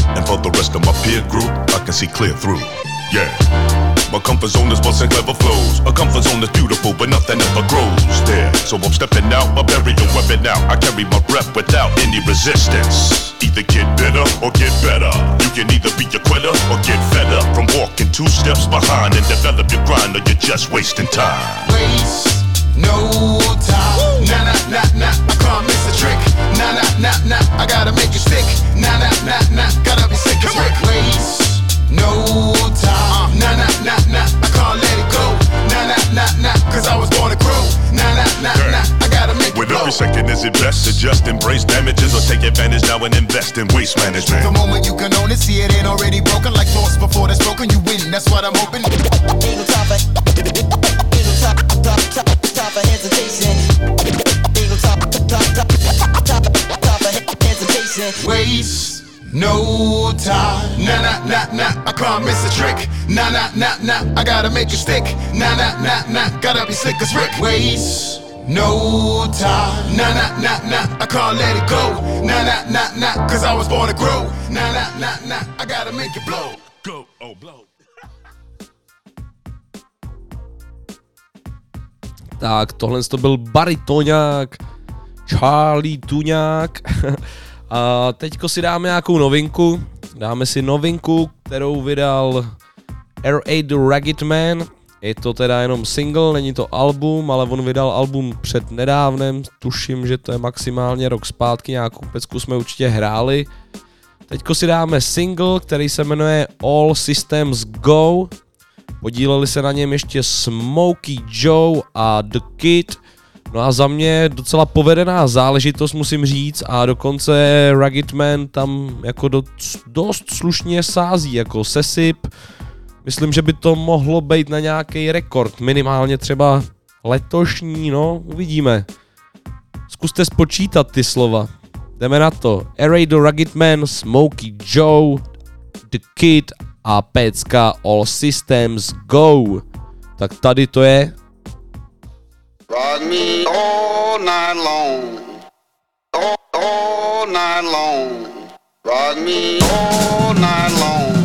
And for the rest of my peer group, I can see clear through. Yeah. My comfort zone is busting clever flows. A comfort zone is beautiful, but nothing ever grows there. So I'm stepping out, I bury your weapon out. I carry my breath without any resistance. Either get better or get better. You can either be a quitter or get fed up from walking 2 steps behind and develop your grind, or you're just wasting time. Waste no time. Nah, nah, nah, nah, I can't miss a trick. Nah, nah, nah, nah, I gotta make it stick. Nah, nah, nah, nah, gotta be sick as Rick. Waste no time. Nah, nah, nah, nah, I can't let it go. Nah, nah, nah, nah, cause I was born to grow. Nah, nah, nah, nah, I gotta make it With blow. every second is it best to just embrace damages or take advantage now and invest in waste management. The moment you can own it, see it ain't already broken. Like thoughts before that's broken, you win, that's what I'm hoping. Ain't no time for hesitation. Ain't no time for hesitation. Waste no time. Nah, nah, nah, nah, I can't miss a trick. Nah, nah, nah, nah, I gotta make it stick. Nah, nah, nah, nah, gotta be slick as Rick. Waste no time. Nah, nah, nah, nah, I can't let it go. Nah, nah, nah, nah, cause I was born to grow. Nah, nah, nah, nah, I gotta make it blow. Go, oh, blow. Tak, tohle to byl baritoňák, Charlie Tuňák. A teďko si dáme nějakou novinku. Dáme si novinku, kterou vydal R.A. The Ragged Man. Je to teda jenom single, není to album, ale on vydal album před nedávnem. Tuším, že to je maximálně rok zpátky, nějakou pecku jsme určitě hráli. Teďko si dáme single, který se jmenuje All Systems Go. Podíleli se na něm ještě Smokey Joe a The Kid. No a za mě docela povedená záležitost, musím říct, a dokonce Ragged Man tam jako dost slušně sází, jako sesyp. Myslím, že by to mohlo být na nějaký rekord, minimálně třeba letošní, no, uvidíme. Zkuste spočítat ty slova. Jdeme na to. R.A. The Ragged Man, Smokey Joe, The Kid a pecka All Systems Go. Tak tady to je. Ride me all night long, all night long. Ride me all night long,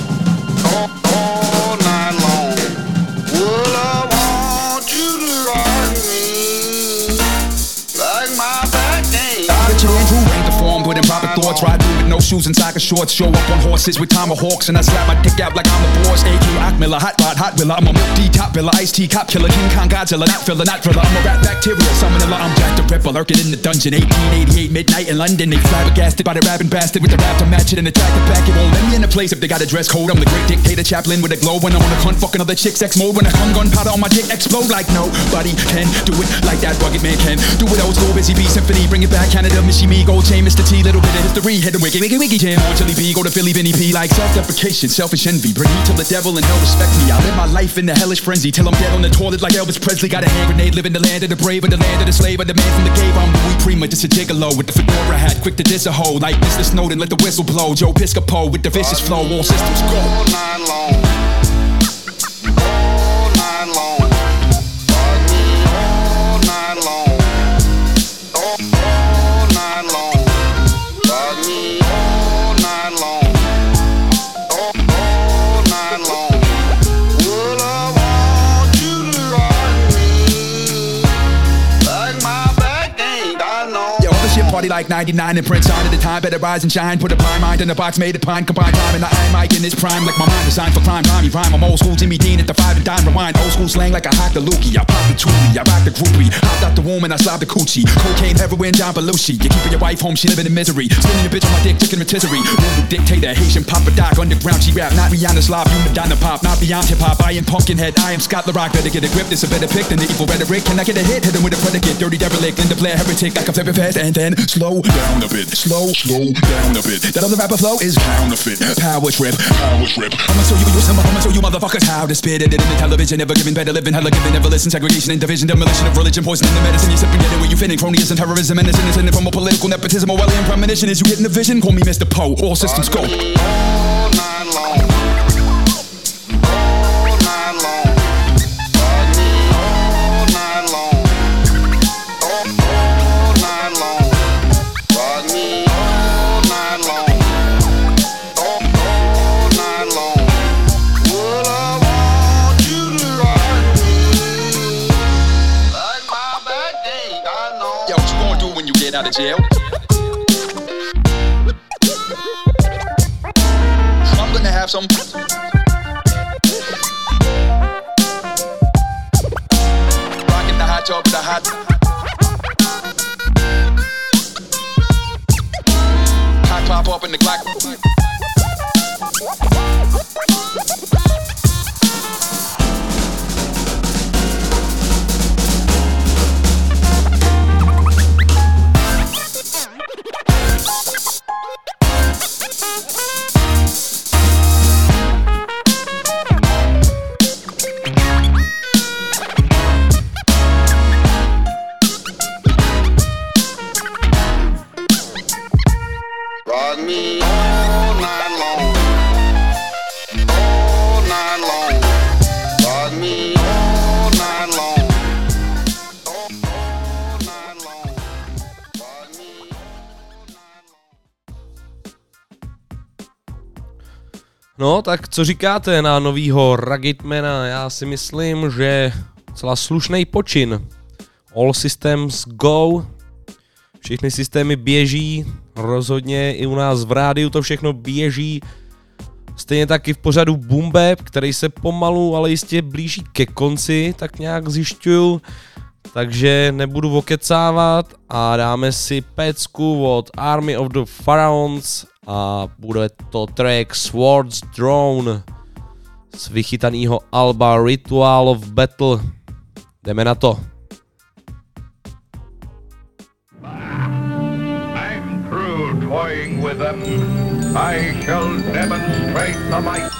all night long. Well, I want you to ride me like my back ain't. With improper thoughts, ride through with no shoes and soccer shorts. Show up on horses with tomahawks, and I slap my dick out like I'm the boss. A.K. Ockmiller, hot rod, hot willa. I'm a milk D top villa, iced tea cop killer, King Kong Godzilla, not filler, not thriller. I'm a rat bacteria, summoner. I'm Jack the Ripper, lurking in the dungeon. 1888 midnight in London. They flabbergasted by the rapping bastard with the rap to match it and attack the back. It won't let me in the place if they got a dress code. I'm the great dictator Chaplin with a glow when I'm on a cunt fucking other chicks X mode. When I come gunpowder on my dick explode like nobody can do it like that rugged man can. Do it old school, busy bee symphony, bring it back Canada, Missy Me, Gold Chain, Mr. T, little bit of history. Hit the wiggy, wiggy, wiggy jam. On Chili B, go to Philly, Vinny P. Like self-deprecation, selfish envy. Bring heat till the devil and hell respect me. I live my life in the hellish frenzy till I'm dead on the toilet like Elvis Presley. Got a hand grenade, live in the land of the brave, or the land of the slave, or the man from the cave. I'm Louis Prima, just a gigolo with the fedora hat, quick to diss a hoe. Like Mr. Snowden, let the whistle blow. Joe Piscopo with the vicious flow. All systems go. All night long, all night long. Ride me all night long, all night long. Ride me all night long, all night long. Well, I want you to ride me like my back ain't got no. Yo, all the shit party like 99 and Prince on at the time. Better rise and shine. Put a prime mind in a box made of pine. Combine time and the eye mic in its prime. Like my mind designed for crime. Rhyme, rhyme. I'm old school Jimmy Dean at the 5 and dime. Rewind. Old school slang like I hacked the lookie. I pop the toolie. I rock the groupie. Hopped out the womb and I slobbed the coochie. Cocaine, heroin, John Belushi. You keeping your wife home, she living in misery. Spinning a bitch on my dick, chicken rotisserie. Local dictator, Haitian Papa Doc. Underground, she rap. Not Rihanna Slav, you Madonna Pop. Not beyond hip hop. I am Pumpkinhead. I am Scott LaRock. Better get a grip. This a better pick than the evil rhetoric. Can I get a hit? Hit him with a predicate. Dirty derelict. Linda Blair, heretic. Like I'm flipping fast and then slow down a bit. Slow down a bit. That other rapper flow is counterfeit. Power trip. I'ma show you motherfuckers how to spit it in the television. Never giving better living. Hella giving, never listen. Segregation and division. Demolition of religion. Poisoning the medicine. You sipping, get it where you fitting. Cronyism, terrorism, and innocent from a political nepotism. Or alien premonition. Is you getting the vision? Call me Mr. Poe. All systems go. All night long, all night long. Ride me all night long, all night long. Ride me all night long, when you get out of jail. I'm gonna have some. Rocking the hot tub with the hot. Hot pop up in the Glock. Rock me all night long, all night long. Rock me all night long, all night long. Rock me all night long. No, tak co říkáte na novýho Ruggedmana? Já si myslím, že celá slušný počin. All systems go. Všechny systémy běží, rozhodně i u nás v rádiu to všechno běží. Stejně taky v pořadu Boom Bap, který se pomalu, ale jistě blíží ke konci, tak nějak zjišťuju. Takže nebudu okecávat a dáme si pecku od Army of the Pharaohs a bude to track Swords Drone z vychytaného alba Ritual of Battle. Jdeme na to. Toying with them, I shall demonstrate the might.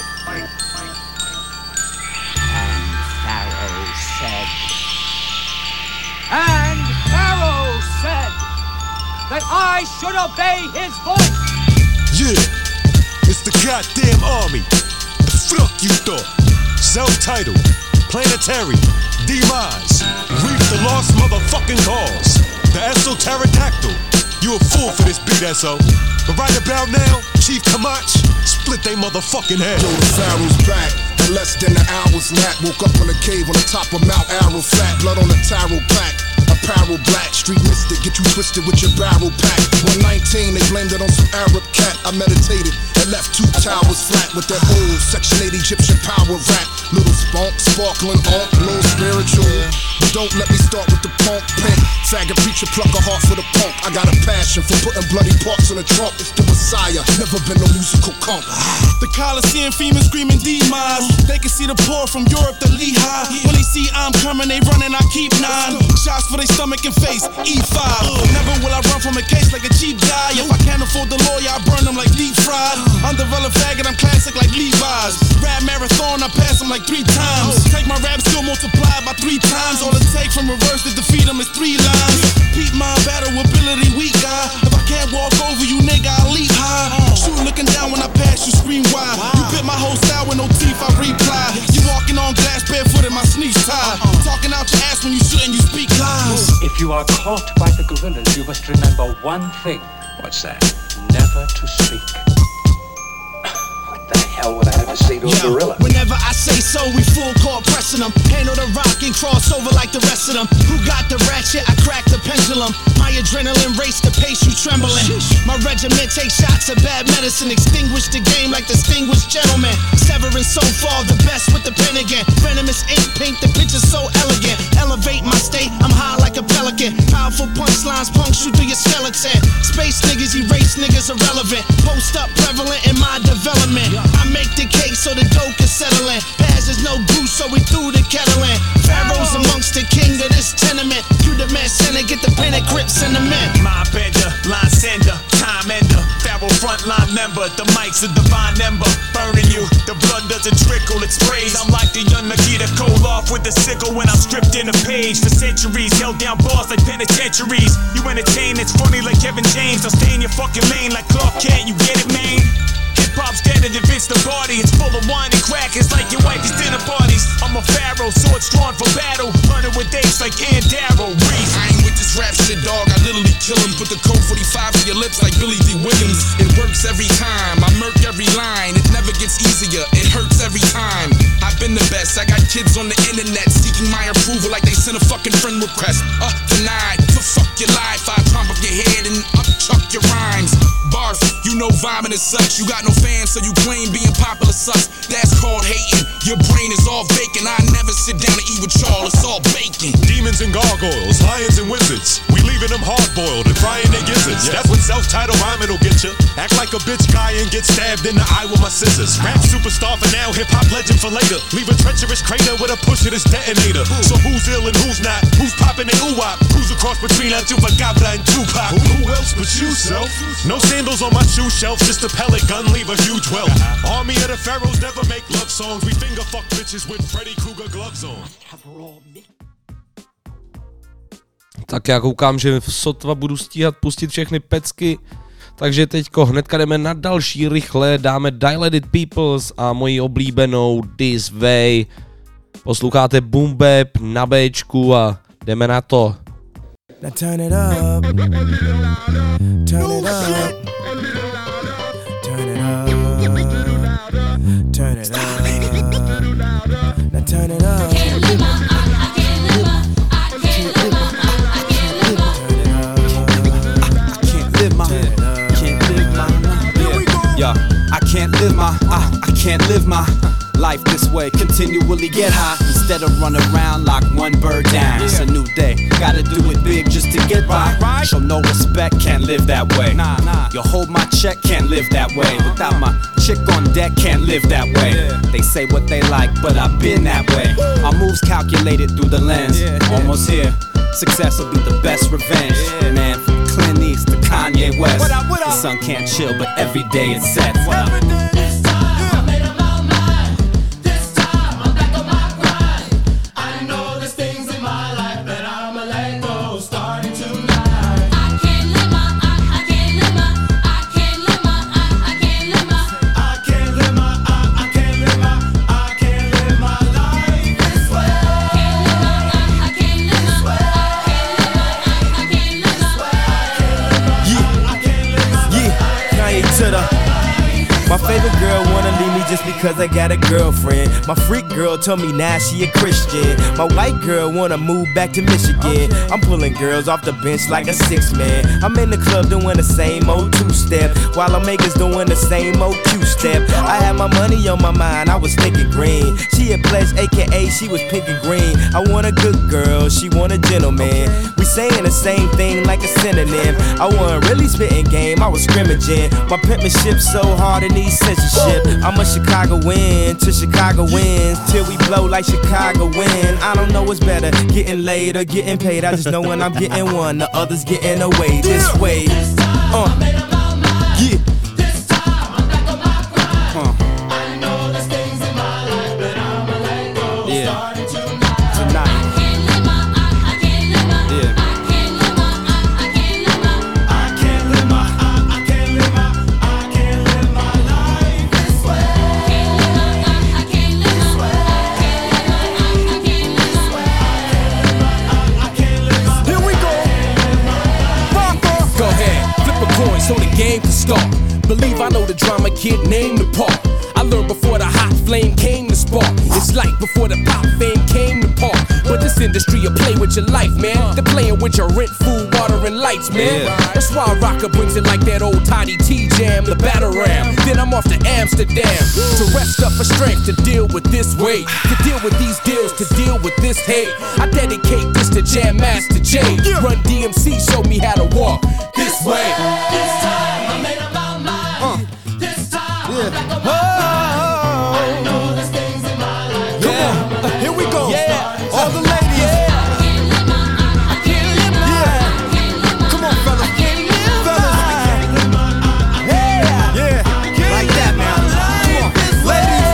And Pharaoh said that I should obey his voice. Yeah, it's the goddamn army. The fuck you thought? Self-titled, planetary, demise, reap the lost motherfucking cause. The esoterodactyl. You a fool for this beat, SO. But right about now, Chief Kamach, split they motherfucking head. Yo, the Pharaoh's back. In less than an hour's nap. Woke up in a cave on the top of Mount Arafat. Blood on the taro pack. Apparel black. Street mystic, get you twisted with your barrel pack. 119, they blamed it on some Arab cat. I meditated and left 2 towers flat with that old Section 8 Egyptian power rap. Little spunk, sparkling on, little spiritual. But don't let me start with the punk pimp. Faggot preacher, pluck a heart for the punk. I got a passion for putting bloody parts in the trunk. It's the Messiah, never been no musical comp. The Coliseum female screaming demise. They can see the pour from Europe to Lehigh. When they see I'm coming, they running, I keep 9. Shots for their stomach and face, E5. Never will I run from a case like a cheap guy. If I can't afford the lawyer, I burn them like deep fried. Undeveloped faggot, I'm classic like Levi's. Rap marathon, I pass them like 3 times. Take my rap skill multiplied by 3 times. All it take from reverse to defeat them is 3 lines. Beat my battle ability, weak guy. If I can't walk over you, nigga, I leap high. Shoot looking down when I pass you, scream wide. You bit my whole style with no teeth, I reply. You walking on glass barefoot in my sneaks tied. Talking out your ass when you shouldn't, you speak lies. If you are caught by the gorillas, you must remember one thing. What's that? Never to speak. What the hell would I ever say to a gorilla? Whenever I say so, we full court pressing them. Handle the rock and cross over like the rest of them. Who got the ratchet? I crack the pendulum. My adrenaline race the pace, you trembling. My regiment takes shots of bad medicine. Extinguish the game like distinguished gentlemen. Severing so far, the best with the pen again. Venomous ink pink, the picture's so elegant. Elevate my state, I'm high like a pelican. Powerful punchlines, punch you through your skeleton. Space niggas, erase niggas irrelevant. Post up prevalent in my development. I make the cake so the dough can settle in. Paz is no goose, so we threw the kettle in. Pharaoh's amongst the king of this tenement. You the man center, get the pen and grip sentiment. My bender, line sender, time ender. Pharaoh frontline member, the mic's a divine ember. Burning you, the blood doesn't trickle, it sprays. I'm like the young Nikita Koloff with the sickle when I'm stripped in a page. For centuries, held down bars like penitentiaries. You entertain, it's funny like Kevin James. I'll stay in your fucking lane like Clark Kent, you get it, man? Hip-hop's dead and Vince the body. It's full of wine and crack, it's like your wife's dinner parties. I'm a pharaoh, sword drawn for battle. Running with apes like Ian Darrow. Reese. I ain't with this rap shit, dog, I literally kill him. Put the code 45 in your lips like Billy D. Williams. It works every time, I murk every line. It never gets easier, it hurts every time. I've been the best, I got kids on the internet seeking my approval like they sent a fucking friend request. Denied, for fuck your life, I your rhymes. Barf, you know vibing is such. You got no fans, so you claim being popular sus. That's called hating. Your brain is all vacant. I never sit down to eat with y'all, it's all bacon. Demons and gargoyles, lions and wizards. We leaving them hard-boiled and frying their gizzards. That's what self-titled rhyming will get you. Act like a bitch guy and get stabbed in the eye with my scissors. Rap superstar for now, hip-hop legend for later. Leave a treacherous crater with a push of this detonator. So who's ill and who's not? Who's popping their ooh-wop? Who's a cross between El Chupacabra and Tupac? Who else but you, self? No sandals on my shoe shelf, just a pellet gun, leave a huge wealth. Army of the pharaohs never make love songs. We finger fuck bitches with Freddy Krueger gloves on. Tak já koukám, že sotva budu stíhat pustit všechny pecky, takže teďko hnedka jdeme na další rychle, dáme Dilated Peoples a moji oblíbenou This Way. Posloucháte Boom Bap na Bčku a jdeme na to. Now turn it up, turn it up, turn it up, turn it up, now turn it up. I can't live my life this way, continually get high instead of run around like one bird down. It's a new day, gotta do it big just to get by. Show no respect, can't live that way. You hold my check, can't live that way. Without my chick on deck, can't live that way. They say what they like, but I've been that way. My moves calculated through the lens, almost here. Success will be the best revenge. Man, from Clint East to Kanye West. The sun can't chill, but every day it sets. My favorite girl wanna leave me just because I got a girlfriend. My freak girl told me now she a Christian. My white girl wanna move back to Michigan. I'm pulling girls off the bench like a 6-man. I'm in the club doing the same old two-step, while I'm makers doing the same old Q-step. I had my money on my mind, I was thinking green. She a pledge, aka she was pink and green. I want a good girl, she want a gentleman. We saying the same thing like a synonym. I wasn't really spitting game, I was scrimmaging. My penmanship so hard it needs censorship. I'm a Chicagoan to Chicago wins, till we blow like Chicago win. I don't know what's better, getting laid or getting paid. I just know when I'm getting one, the others getting away. This way, yeah. So the game can start. Believe I know the drama kid named the part. I learned before the hot flame came to spark. It's like before the pop fame came to park. But this industry will play with your life, man. They're playing with your rent, food, water, and lights, man. That's why Rocker brings it like that old Toddy T jam, the battle ram. Then I'm off to Amsterdam to rest up for strength to deal with this weight, to deal with these deals, to deal with this hate. I dedicate this to Jam Master J. Run DMC, show me how to walk this way. This time I made up my mind. This time I'm back on my grind. I know there's things in my life. Come on, here we go. Yeah, all the ladies. I can't live my life. I can't live my life. Come on, fellas. I can't live my life. I can't live my life. Yeah, like that, man. Come on, ladies.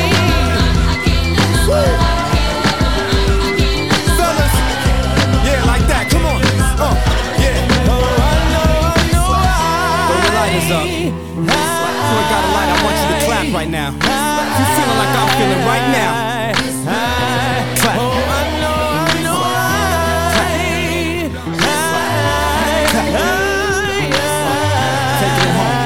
Fellas. Yeah, like that. Come on. Yeah. Throw your lighters up. Before I got a light, I want you to clap right now. If you feeling like I'm feeling right now, clap. Take it home.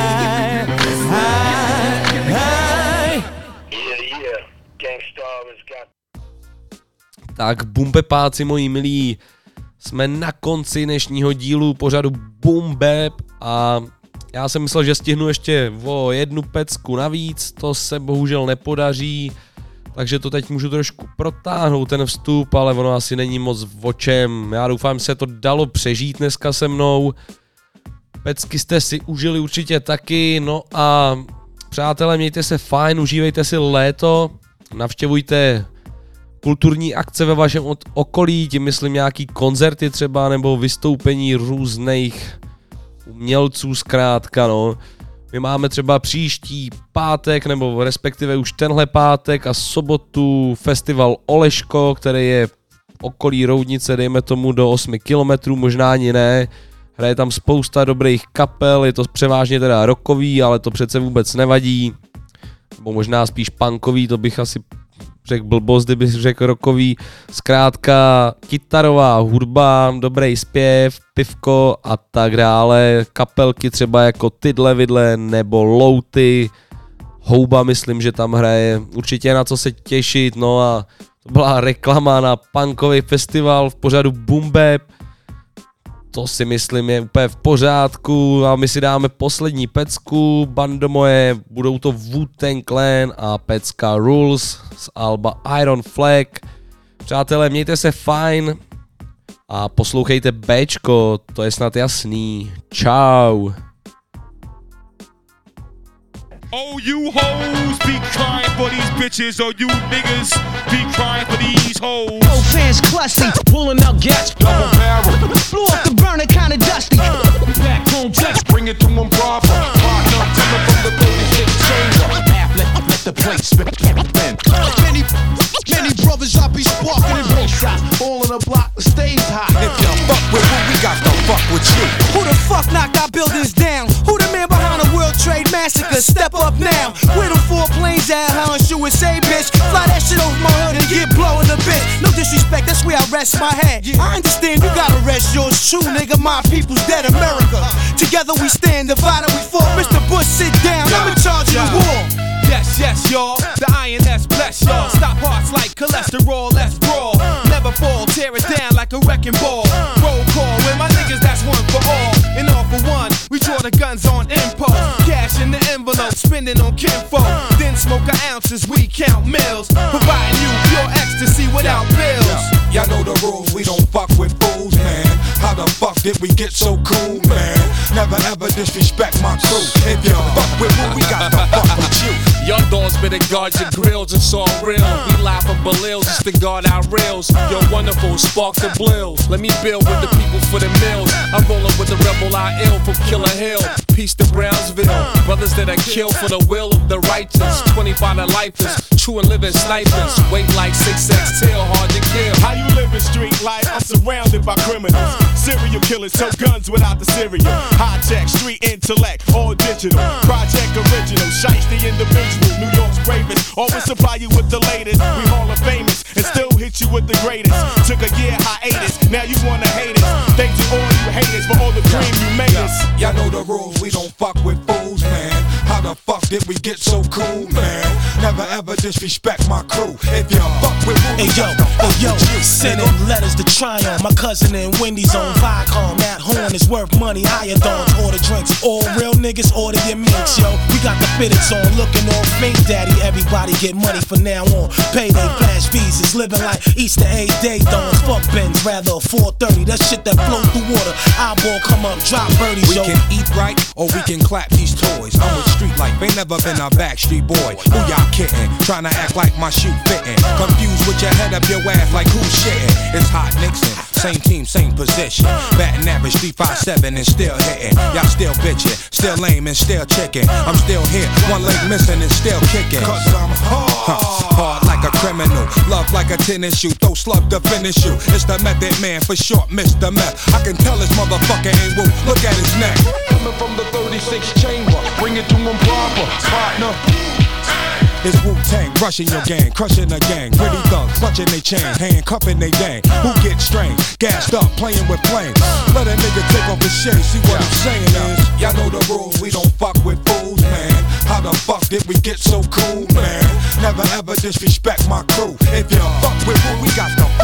Tak bumbepáci moji milí, jsme na konci dnešního dílu pořadu Boom Bap A já jsem myslel, že stihnu ještě o 1 pecku navíc, to se bohužel nepodaří, takže to teď můžu trošku protáhnout ten vstup, ale ono asi není moc o čem. Já doufám, že se to dalo přežít dneska se mnou. Pecky jste si užili určitě taky, no a přátelé, mějte se fajn, užívejte si léto, navštěvujte kulturní akce ve vašem okolí, tím myslím nějaký koncerty třeba, nebo vystoupení různých umělců zkrátka, no. My máme třeba příští pátek, nebo respektive už tenhle pátek a sobotu festival Oleško, který je v okolí Roudnice, dejme tomu do 8 kilometrů, možná ani ne. Hraje tam spousta dobrých kapel, je to převážně teda rockový, ale to přece vůbec nevadí. Nebo možná spíš punkový, to bych asi řekl blbost, kdybych řekl rockový. Zkrátka kytarová hudba, dobrý zpěv, pivko a tak dále. Kapelky třeba jako Tydle Vidle nebo Louty. Houba myslím, že tam hraje. Určitě na co se těšit, no a to byla reklama na punkový festival v pořadu Boom Bap. To si myslím je úplně v pořádku a my si dáme poslední pecku, bando moje, budou to Wu-Tang Clan a pecka Rules z alba Iron Flag. Přátelé, mějte se fajn a poslouchejte Bčko, to je snad jasný. Čau. Oh, you hoes be crying for these bitches, or you niggas be crying for these hoes. No fans clutching, pulling out gas, double barrel. Blew off the burner, kinda dusty. Back home, text, bring it to them proper. Partner, tell them from the 36 chamber. Let the plate spin. Many brothers I be sparking in real shots. All in a block, the stage high. If you fuck with what we got, to fuck with you. Who the fuck knocked our buildings down? Who the man behind the World Trade Massacre? Step up now. Where them 4 planes at, huh? And shoot say, bitch. Fly that shit over my hood and get blowing a bitch. No disrespect, that's where I rest my head. I understand you gotta rest yours true, nigga. My people's dead, America. Together we stand, divided we fall. Mr. Bush, sit down. I'm in charge of the war. Yes, yes, y'all. The INS bless y'all. Stop hearts like cholesterol, let's brawl. Never fall, tear it down like a wrecking ball. Roll call with my niggas, that's one for all. And all for one, we draw the guns on impulse. Cash in the envelope, spending on kinfolk. Then smoke our ounces, we count mills. Providing you pure ecstasy without bills. Y'all know the rules, we don't fuck with fools, man. How the fuck did we get so cool, man? Never ever disrespect my crew. If you fuck with what we got, to fuck with you. Young dogs better guard your grills, it's all real. We live from Belils just to guard our rails. You're wonderful, spark the brills. Let me build with the people for the mills. I'm rolling with the rebel I ill from Killer Hill. Peace to Brownsville. Brothers that are killed for the will of the righteous. 25 to lifers, true and living snipers. Weight like 6X tail, hard to kill. How you living street life? I'm surrounded by criminals. Serial killers, tow guns without the cereal. High-tech, street intellect, all digital. Project original, shiesty the individual. New York's bravest, always supply you with the latest. We Hall of Famous, and still hit you with the greatest. Took a year hiatus, now you wanna hate us. Thank you all you haters for all the cream you made us. Y'all know the rules, we don't fuck with fools, man. How the fuck did we get so cool, man? Never ever disrespect my crew. If you fuck with what we got, to fuck with you. Sending letters to Tryon, my cousin in Wendy's on Viacom. That horn is worth money, higher dawns, order drinks. All real niggas order your minks, yo. We got the fitteds on, looking all fake, daddy. Everybody get money from now on. Payday, flash visas, living like Easter egg day dawns. Fuck Benz, rather a 430. That shit that flow through water. Eyeball come up, drop birdies, yo. We can eat right, or we can clap these toys. I'm with street life, ain't never been a backstreet boy. Who y'all kidding? Tryna act like my shoe fitting. Confused with your head up your ass like who's shitting. It's Hot Nixon, same team, same position. Batting average 357 and still hitting. Y'all still bitching, still lame and still chicken. I'm still here, one leg missing and still kicking. Cause I'm hard like a criminal, love like a tennis shoe, throw slug to finish you. It's the Method Man, for short, Mr. Meth. I can tell this motherfucker ain't woo, look at his neck. Coming from the 36 chamber, bring it to him proper, partner. It's Wu-Tang, rushing your gang, crushing the gang. Pretty thugs, clutching they chain, handcuffing they gang. Who gets strained, gassed up, playing with flames. Let a nigga take off his shade, see what I'm saying is. Y'all know the rules, we don't fuck with fools, man. How the fuck did we get so cool, man? Never ever disrespect my crew. If you fuck with what we got, to